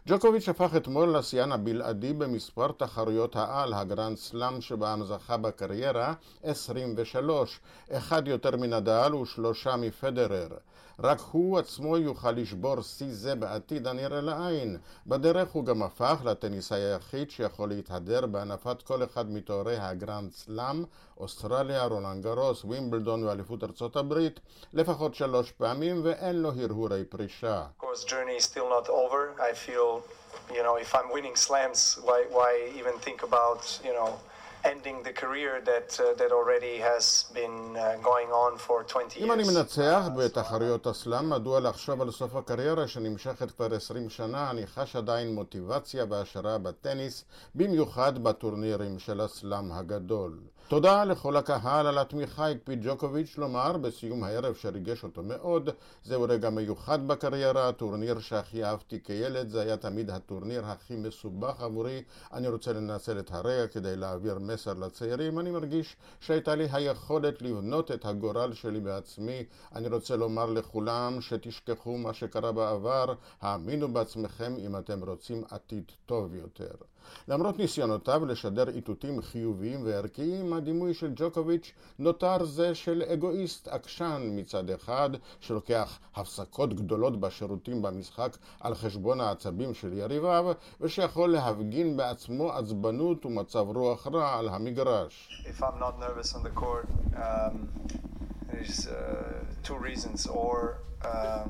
Speaker 23: ג'וקוביץ' הפך אתמול לשיאן הבלעדי במספר תחרויות העל, הגרנד סלאם שבהם זכה בקריירה עשרים ושלוש, אחד יותר מנדל ושלושה מפדרר. רק הוא עצמו יוכל לשבור שיא זה בעתיד הנראה לעין. בדרך הוא גם הפך לטניסאי היחיד שיכול להתהדר בהנפת כל אחד מתוארי הגרנד סלאם, אוסטרליה, רולאן גארוס, וימבלדון ואליפות ארצות הברית, לפחות שלוש פעמים, ואין לו הרהורי פרישה.
Speaker 24: Of course, journey is still not over. I feel, you know, if I'm winning slams, why why even think about, you know, ending the career that uh, that already has been uh, going on for twenty years.
Speaker 23: אם אני מנצח בתחרויות הסלאם, מדוע לחשוב על סוף הקריירה שנמשכת כבר עשרים שנה? אני חש עדיין מוטיבציה והשראה בטניס, במיוחד בטורנירים של הסלאם הגדול. תודה לכל הקהל על התמיכה, הקפיד ג'וקוביץ' לומר בסיום הערב שריגש אותו מאוד. זהו רגע מיוחד בקריירה, הטורניר שהכי אהבתי כילד, זה היה תמיד הטורניר הכי מסובך עבורי. אני רוצה לנצל את הרגע כדי להעביר מסר לצעירים. אני מרגיש שהייתה לי היכולת לבנות את הגורל שלי בעצמי. אני רוצה לומר לכולם שתשכחו מה שקרה בעבר, האמינו בעצמכם אם אתם רוצים עתיד טוב יותר. למרות ניסיונותיו לשדר איתותים חיוביים וערכיים, הדימוי של ג'וקוביץ' נותר זה של אגואיסט עקשן מצד אחד, שלוקח הפסקות גדולות בשירותים במשחק על חשבון העצבים של יריביו, ושיכול להפגין בעצמו עצבנות ומצב רוח רע על המגרש.
Speaker 24: If I'm not nervous on the court, um, there's uh, two reasons, or um,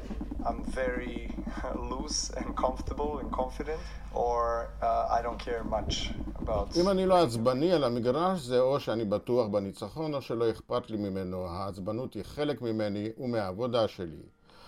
Speaker 24: I'm very loose and comfortable and confident, or uh, I don't care much about...
Speaker 23: אם אני לא עצבני על המגרש, זה או שאני בטוח בניצחון או שלא אכפת לי ממנו. העצבנות היא חלק ממני ומהעבודה שלי.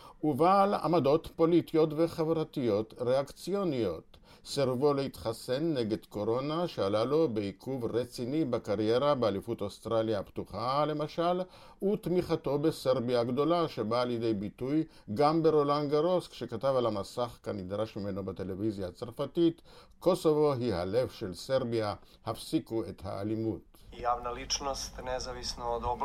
Speaker 23: ובעל עמדות פוליטיות וחברתיות ריאקציוניות. סרבו להתחסן נגד קורונה שעלה לו בעיכוב רציני בקריירה באליפות אוסטרליה הפתוחה למשל, ותמיכתו בסרביה הגדולה שבאה לידי ביטוי גם ברולאן גארוס כשכתב על המסך כנדרש ממנו בטלוויזיה הצרפתית, קוסובו היא הלב של סרביה, הפסיקו את האלימות.
Speaker 24: Javna ličnost, nezavisno od, obla,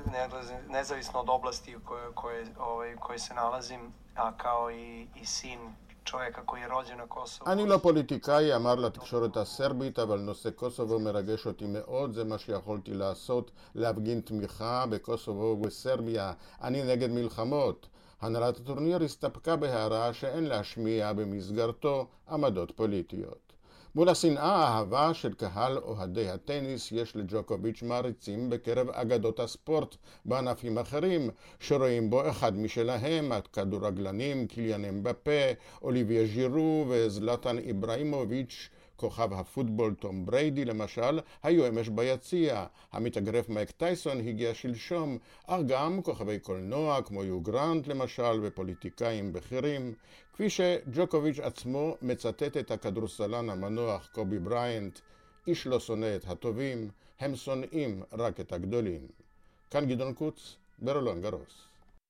Speaker 24: nezavisno od oblasti u kojoj, koje, ovaj, koje se nalazim, a kao i, i sin čovjeka koji je rođen na Kosovo.
Speaker 23: אני לא פוליטיקאי, אמר לתקשורת הסרבית, אבל נושא קוסובו מרגש אותי מאוד, זה מה שיכולתי לעשות, להפגין תמיכה בקוסובו ובסרביה. אני נגד מלחמות. הנהלת הטורניר הסתפקה בהערה שאין להשמיע במסגרתו עמדות פוליטיות. מול השנאה האהבה של קהל אוהדי הטניס, יש לג'וקוביץ' מעריצים בקרב אגדות הספורט בענפים אחרים, שרואים בו אחד משלהם, הכדורגלנים קיליאן אמבפה, אוליביה ז'ירו וזלטן איברהימוביץ'. כוכב הפוטבול תום בריידי למשל היו אמש ביציע. המתאגרף מייק טייסון הגיע שלשום, אך גם כוכבי קולנוע כמו יו גרנט למשל ופוליטיקאים בכירים. כפי שג'וקוביץ' עצמו מצטט את הכדורסלן המנוח קובי בריינט, איש לא שונא את הטובים, הם שונאים רק את הגדולים. כאן גדעון קוץ, ברולאן גארוס.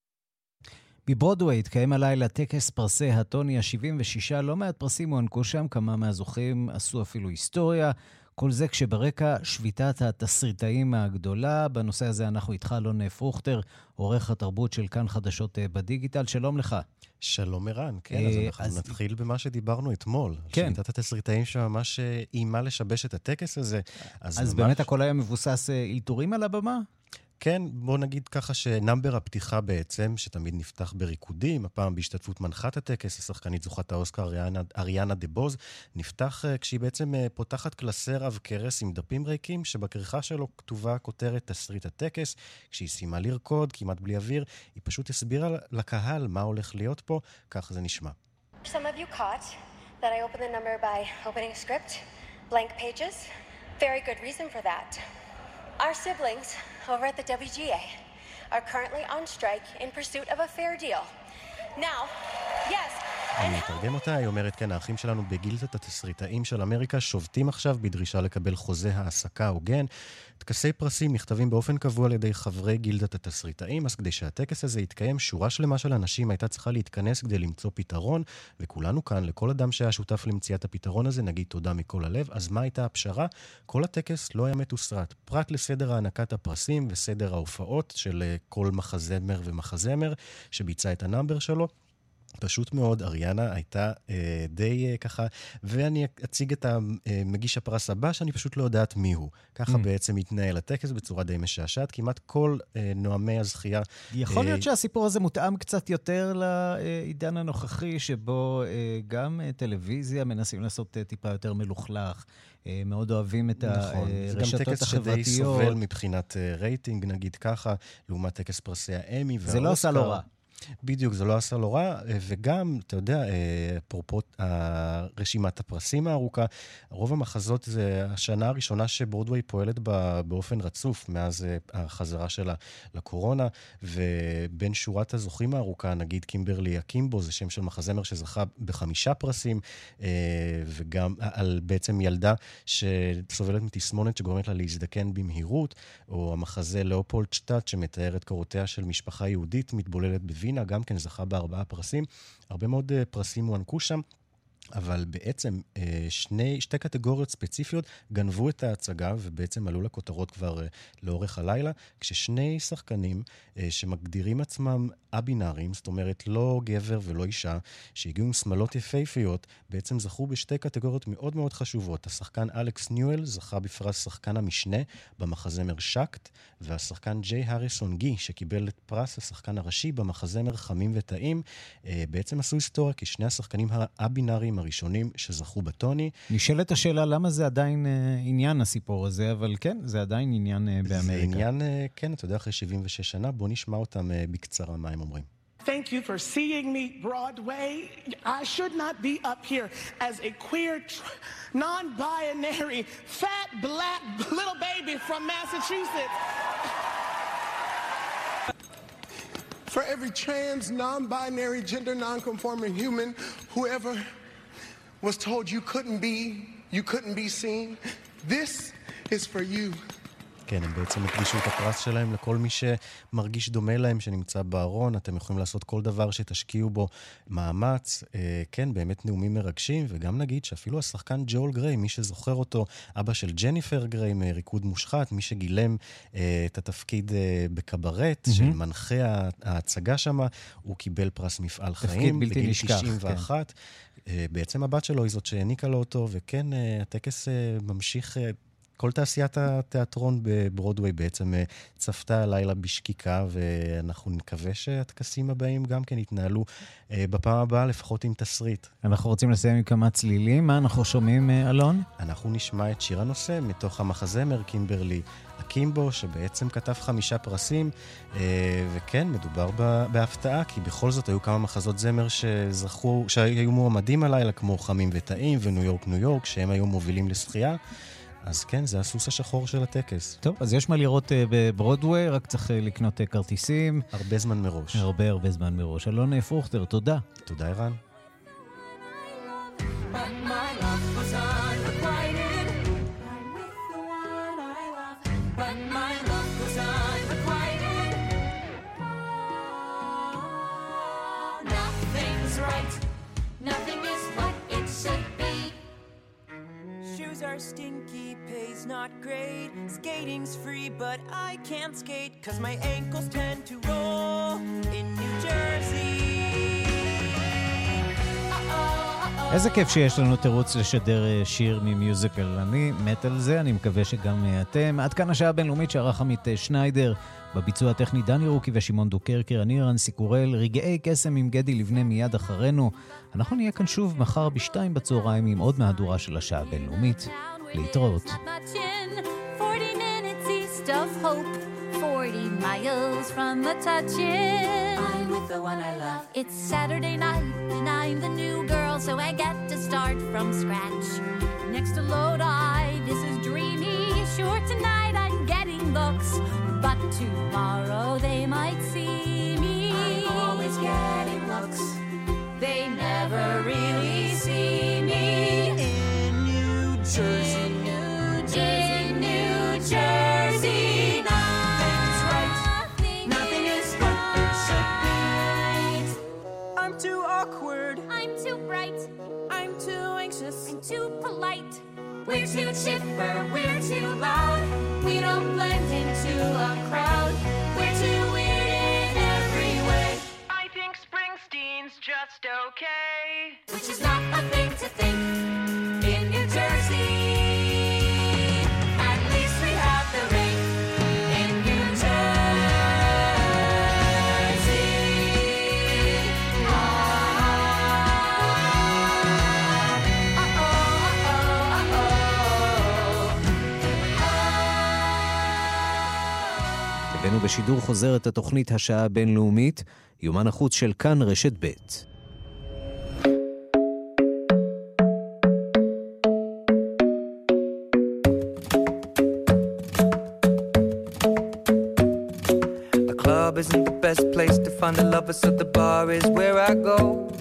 Speaker 3: בברודווי התקיים הלילה טקס פרסי הטוני ה-שבעים ושש, לא מעט פרסים הוענקו שם, כמה מהזוכים עשו אפילו היסטוריה, כל זה כשברקע שביתת התסריטאים הגדולה. בנושא הזה אנחנו איתך אלון פרוכטר, עורך התרבות של כאן חדשות בדיגיטל, שלום לך.
Speaker 1: שלום ערן, כן, אז אנחנו אז... נתחיל במה שדיברנו אתמול,
Speaker 3: כן.
Speaker 1: שביתת התסריטאים שממש אימה לשבש את הטקס הזה.
Speaker 3: אז, אז ממש... באמת הכל היה מבוסס אילתורים על הבמה?
Speaker 1: כן, בוא נגיד ככה שנאמבר הפתיחה בעצם, שתמיד נפתח בריקודים, הפעם בהשתתפות מנחת הטקס, השחקנית זוכת האוסקר אריאנה, אריאנה דבוז, נפתח כשהיא בעצם פותחת קלסר עב כרס עם דפים ריקים, שבכריכה שלו כתובה כותרת תסריט הטקס. כשהיא סיימה לרקוד, כמעט בלי אוויר, היא פשוט הסבירה לקהל מה הולך להיות פה, כך זה נשמע.
Speaker 4: Some of you caught that I opened the number by opening a script, blank pages. Very good reason for that. Our siblings over at the W G A are currently on strike in pursuit of a fair deal. Now, yes.
Speaker 1: אני אתרגם אותה, היא אומרת, כן, האחים שלנו בגילדת התסריטאים של אמריקה שובתים עכשיו בדרישה לקבל חוזה העסקה הוגן. טקסי פרסים נכתבים באופן קבוע על ידי חברי גילדת התסריטאים, אז כדי שהטקס הזה יתקיים, שורה שלמה של אנשים הייתה צריכה להתכנס כדי למצוא פתרון, וכולנו כאן, לכל אדם שהיה שותף למציאת הפתרון הזה, נגיד תודה מכל הלב. אז מה הייתה הפשרה? כל הטקס לא היה מתוסרט, פרט לסדר הענקת הפרסים וסדר ההופעות של כל מחזמר ומחזמר שביצע את הנאמבר שלו. פשוט מאוד, אריאנה הייתה אה, די אה, ככה, ואני אציג את המגיש הפרס הבא, שאני פשוט לא יודעת מי הוא. ככה mm. בעצם התנהל הטקס בצורה די משעשעת, כמעט כל אה, נועמי הזכייה.
Speaker 3: יכול להיות
Speaker 1: אה,
Speaker 3: שהסיפור הזה מותאם קצת יותר לעידן הנוכחי, שבו אה, גם אה, טלוויזיה מנסים לעשות אה, טיפה יותר מלוכלך. אה, מאוד אוהבים את
Speaker 1: נכון.
Speaker 3: הרשתות החברתיות.
Speaker 1: זה גם טקס שדי סובל מבחינת אה, רייטינג, נגיד ככה, לעומת טקס פרסי האמי והאוסקר.
Speaker 3: זה לא עשה לא רע.
Speaker 1: בדיוק, זה לא עשה לא רע, וגם, אתה יודע, פרופות רשימת הפרסים הארוכה, רוב המחזות זה השנה הראשונה שברודווי פועלת באופן רצוף, מאז החזרה שלה לקורונה, ובין שורת הזוכים הארוכה, נגיד קימברלי אקימבו, זה שם של מחזמר שזכה בחמישה פרסים, וגם על בעצם ילדה שסובלת מתסמונת שגורמת לה להזדקן במהירות, או המחזה לאופולדשטאט שמתאר את קורותיה של משפחה יהודית מתבוללת בווינה, גם כן זכה בארבעה פרסים. הרבה מאוד פרסים הוענקו שם, אבל בעצם שני, שתי קטגוריות ספציפיות גנבו את ההצגה, ובעצם עלו לכותרות כבר לאורך הלילה, כששני שחקנים שמגדירים עצמם אבינארים, זאת אומרת לא גבר ולא אישה, שהגיעו עם שמלות יפהפיות, בעצם זכו בשתי קטגוריות מאוד מאוד חשובות. השחקן אלכס ניואל זכה בפרס שחקן המשנה במחזמר שקט, והשחקן ג'יי הריסון גי, שקיבל את פרס השחקן הראשי במחזמר חמים וטעים, בעצם עשו היסטוריה, כי שני השחקנים האבינארים הראשונים שזכו בטוני.
Speaker 3: נשאלת השאלה למה זה עדיין אה, עניין הסיפור הזה, אבל כן, זה עדיין עניין אה, באמריקה.
Speaker 1: זה עניין, אה, כן, אתה יודע, אחרי שבעים ושש שנה, בוא נשמע אותם אה, בקצרה מה הם אומרים.
Speaker 2: Thank you for seeing me, Broadway. I should not be up here as a queer, tr- non-binary, fat, black little baby from Massachusetts. For every trans, non-binary, gender non-conforming human, whoever was told you couldn't be, you couldn't be seen, this is for you.
Speaker 1: כן, הם בעצם הקדישו את הפרס שלהם לכל מי שמרגיש דומה להם, שנמצא בארון. אתם יכולים לעשות כל דבר שתשקיעו בו מאמץ. כן, באמת נאומים מרגשים, וגם נגיד שאפילו השחקן ג'ול גריי, מי שזוכר אותו, אבא של ג'ניפר גריי מריקוד מושחת, מי שגילם את התפקיד בקברט, של מנחה ההצגה שם, הוא קיבל פרס מפעל חיים, בגיל תשעים ואחת. בעצם הבת שלו היא זאת שהעניקה לו אותו, וכן, הטקס ממשיך... כל תעשיית התיאטרון בברודווי בעצם צפתה הלילה בשקיקה, ואנחנו נקווה שהטקסים הבאים גם כן יתנהלו בפעם הבאה, לפחות עם תסריט.
Speaker 3: אנחנו רוצים לסיים עם כמה צלילים. מה אנחנו שומעים, אלון?
Speaker 1: אנחנו נשמע את שיר הנושא מתוך המחזמר קימברלי אקימבו, שבעצם כתב חמישה פרסים, וכן, מדובר בהפתעה, כי בכל זאת היו כמה מחזות זמר שזכו, שהיו מועמדים הלילה, כמו חמים וטעים וניו יורק ניו יורק, שהם היו מובילים לשחייה. אז כן, זה הסוס השחור של הטקס.
Speaker 3: טוב, אז יש מה לראות uh, בברודווי, רק צריך uh, לקנות uh, כרטיסים.
Speaker 1: הרבה זמן מראש.
Speaker 3: הרבה הרבה זמן מראש. אלון פרוכטר, תודה.
Speaker 1: תודה, ערן.
Speaker 5: Are stinky, pay's not great. Skating's free, but I can't skate, cause my ankles tend to roll in New Jersey.
Speaker 3: איזה כיף שיש לנו תירוץ לשדר שיר ממיוזיקל. אני מת על זה, אני מקווה שגם אתם. עד כאן השעה הבינלאומית שערך עמית שניידר, בביצוע הטכני דני רוקי ושימון דוקרקר, אני רנסי קורל. רגעי קסם עם גדי לבנה מיד אחרינו. אנחנו נהיה כאן שוב מחר בשתיים בצהריים עם עוד מהדורה של השעה הבינלאומית. להתראות.
Speaker 6: forty minutes east of hope, forty miles from the touch-in. I'm with the one I love. It's Saturday night and I'm the new girl, so I get to start from scratch. Next to Lodi, this is dreamy. Sure, tonight I'm getting looks, but tomorrow they might see me. I'm always getting looks. They never really see me. In New Jersey. In New Jersey. In New Jersey. Nothing's right. Nothing is what there should be. I'm too awkward. I'm too bright. I'm too anxious. I'm too polite. We're too chipper. We're too loud. We don't blend into a crowd. We're too weird in every way.
Speaker 5: I think Springsteen's just which is not a thing to think. In New Jersey, at least we have the rain. In New Jersey, ah, uh-oh, uh-oh, uh-oh.
Speaker 3: הבאנו בשידור חוזר את התוכנית השעה הבינלאומית, יומן החוץ של כאן רשת ב'.
Speaker 7: Isn't the best place to find a lover, so the bar is where I go.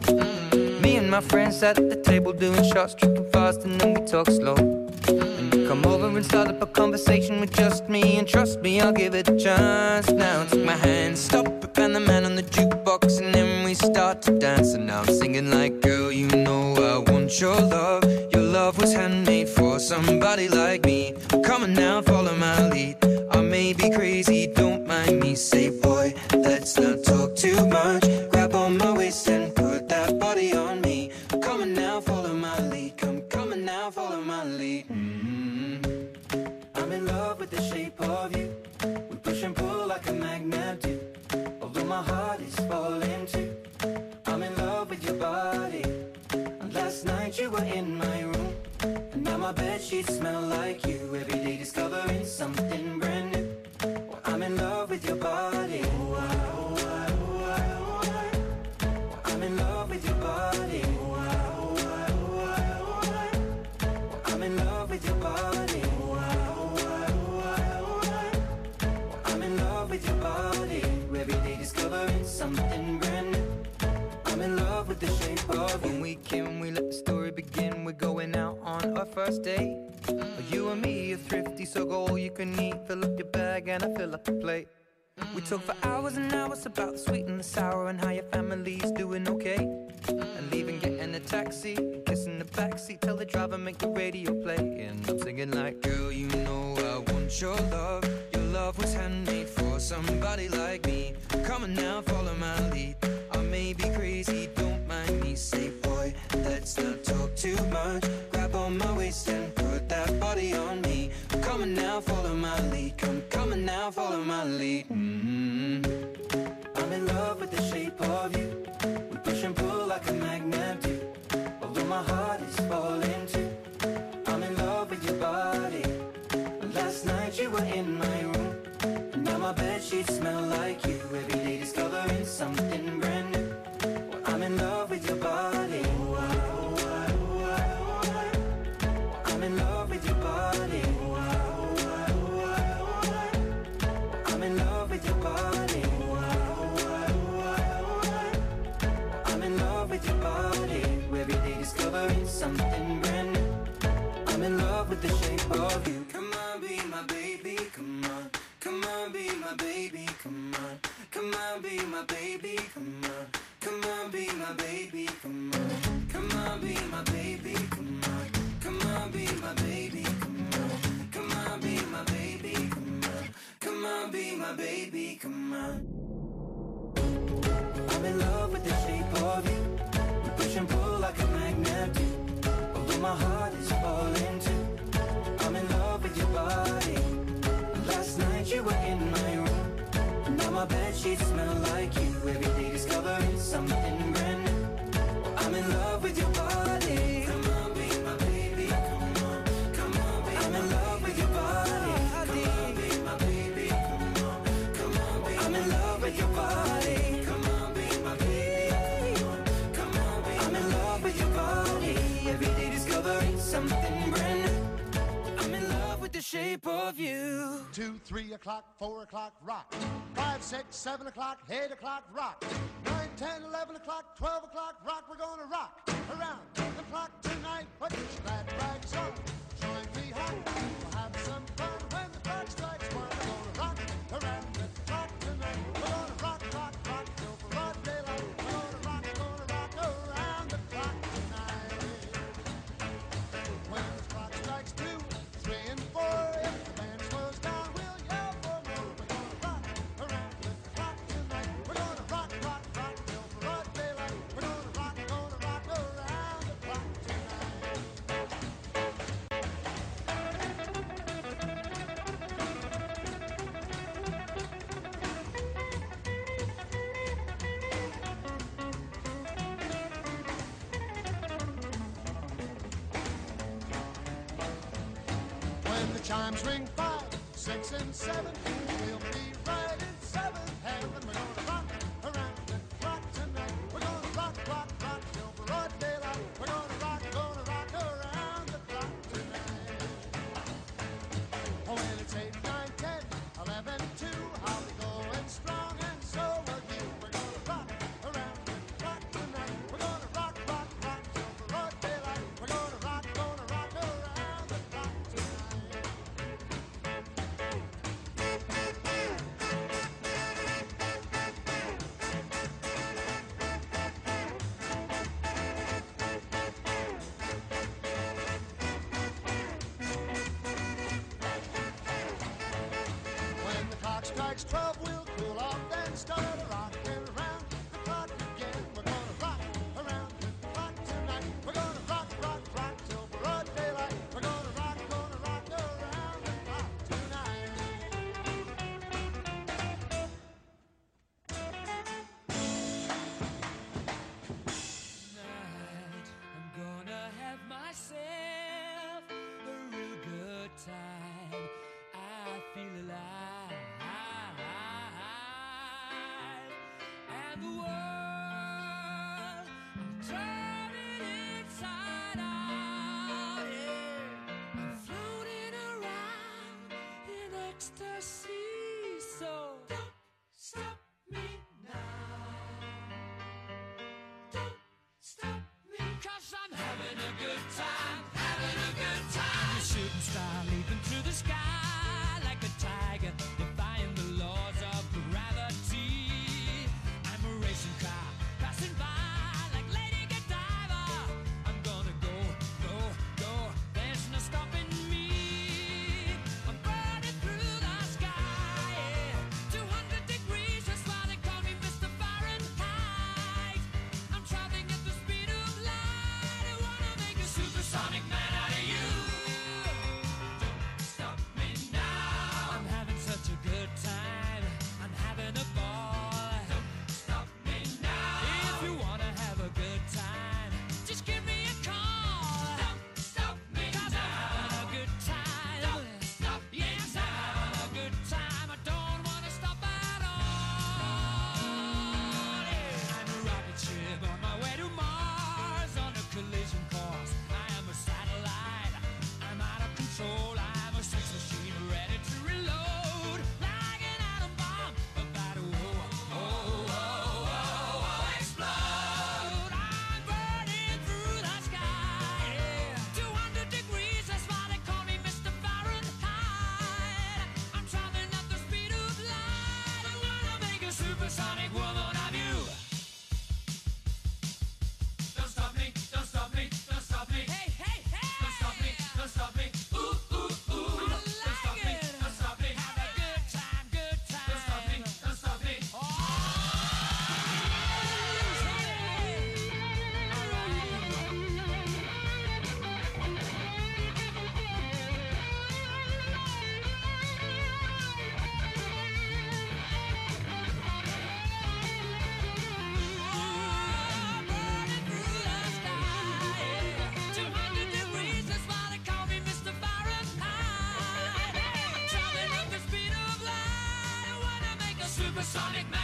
Speaker 7: Me and my friends at the table doing shots, tripping fast, and then we talk slow. And you come over and start up a conversation with just me, and trust me, I'll give it a chance. Now take my hand, stop it, and the man on the jukebox, and then we start to dance. And now I'm singing like, girl, you know I want your love. Your love was handmade for somebody like me. Come on now, follow my lead. I may be crazy, don't mind me. Say, boy, let's not talk too much. Grab on my waist and put that body on me. Come on now, follow my lead. Come, come on now, follow my lead. Mm-hmm. I'm in love with the shape of you. We push and pull like a magnet do. Although my heart is falling too. I'm in love with your body. And last night you were in my room. And now my bedsheets smell like you. Every day discovering something brand new. Well, I'm in love with your body. Oh, I, oh, I, oh, I, oh, I. Well, I'm in love with your body. Oh, I, oh, I, oh, I, oh, I. Well, I'm in love with your body. Oh, I, oh, I, oh, I, oh, I. Well, I'm in love with your body. Every day discovering something brand new. I'm in love with the shape of you. When we came, we let the story begin. We're going out on our first date. You and me are thrifty, so go all you can eat. Fill up your bag and I fill up the plate. We talk for hours and hours about the sweet and the sour and how your family's doing okay. And leaving, getting a taxi, kissing the backseat, tell the driver make the radio play. And I'm singing like, girl, you know I want your love. Your love was handmade for somebody like me. Come on now, follow my lead. I may be crazy, don't mind me. Say, boy, let's not talk too much. Grab on my waist and put that body on me. Come on now, follow my lead. Come, come on now, follow my lead. Mm-hmm. I'm in love with the shape of you. We push and pull like a magnet do. Although my heart is falling too. I'm in love with your body. Last night you were in my room. And now my bedsheets smell like you. Every day discovering something brand new. Well, I'm in love with your body. Oh, I, oh, I, oh, I, oh, I. Well, I'm in love with your body. Oh, I, oh, I, oh, I, oh, I. Well, I'm in love with your body. Oh, I, oh, I, oh, I, oh, I. Well, I'm in love with your body. Every day discovering something brand new. I'm in love with the shape of you. Come on, be my baby, come on. Come on, be my baby, come on. Come on, be my baby, come on. Come on, be my baby, come on. Come on, be my baby, come on. Come on, be my baby, come on. Come on, be my baby, come on. Come on, be my baby, come on. I'm in love with the shape of you. We push and pull like a magnet do. Although my heart is falling too. I'm in love with your body. Last night you were in my room. And now my bedsheets smell like you. Every day discovering something brand new. Well, I'm in love with your body. Come on, be my baby. Come on, come on, be I'm in love with your body. Come on, be my baby. Come on, come on, be I'm in love with your body. Come on, be my baby. Come on, come on, be I'm in love with your body. Every day discovering something brand new. I'm in love with the shape of you.
Speaker 9: Two, three o'clock, four o'clock, rock. Five, six, seven o'clock, eight o'clock, rock. Nine, ten, eleven o'clock, twelve o'clock, rock. We're gonna rock around the clock tonight. Put your glad rags on, join me home. We'll have some fun when the clock strikes one. We're gonna rock around the clock tonight. We're gonna rock, rock, rock till broad daylight. We're gonna rock, gonna rock around the clock tonight. When the clock strikes two, three, and four, if the band slows down, we'll yell for more. We're gonna rock around the clock tonight. We're gonna rock, rock, rock till broad daylight. We're gonna rock, gonna rock around. the chimes ring five, six, and seven, we'll be right in seventh heaven. We're gonna rock around the clock tonight. We're gonna rock, rock, rock till broad daylight. We're gonna rock, gonna rock around the clock tonight. Oh, when it's eight, nine, ten, eleven, two, I'll be going strong, and so will you. We're gonna rock around the clock tonight. We're gonna rock, rock, rock till broad daylight. We're gonna rock, gonna rock around the clock tonight. When the clock strikes twelve, we'll cool off, then start a rockin' around the clock again. We're gonna rock around the clock tonight. We're gonna rock, rock, rock till broad daylight. We're gonna rock, gonna rock around the clock tonight.
Speaker 5: Tonight, I'm gonna have myself a real good time. I feel alive, and the world, I'm turning inside out. Yeah, I'm floating around in ecstasy. So don't stop me now. Don't stop me, 'cause I'm having a good time, having a good time. The shooting star leaping through the sky like a tiger, defying the laws of gravity. I'm a racing car passing by like Lady Godiva. I'm gonna go, go, go. There's no stopping me. I'm burning through the sky. Yeah. two hundred degrees, that's why they call me Mister Fahrenheit. I'm traveling at the speed of light. I wanna make a supersonic man out of you. Don't stop me now. I'm having such a good time. I'm having a ball. Don't stop me now. If you wanna have a good time, just give me a call. Don't stop me 'cause now. I'm having a good time. Don't stop me yes, now. I'm having a good time. I don't wanna stop at all. Yeah. I'm a rocket ship on my way to Mars on a collision course. I am a satellite. I'm out of control. I'm a sex machine ready to reload like an atom bomb about to oh, oh, oh, oh, oh, explode. I'm burning through the sky. Yeah. two hundred degrees, that's why they call me Mister Fahrenheit. I'm traveling at the speed of light. I wanna make a supersonic woman of you. Don't stop me, don't stop me, don't stop me. Hey, hey, hey. Don't stop me, don't stop me. Ooh, ooh, ooh. Don't stop me, don't stop me. Have a good time, good time. Don't stop me, don't stop me. two hundred degrees, that's why they call me Mister Fahrenheit. I'm traveling at the speed of light. I wanna make a supersonic man.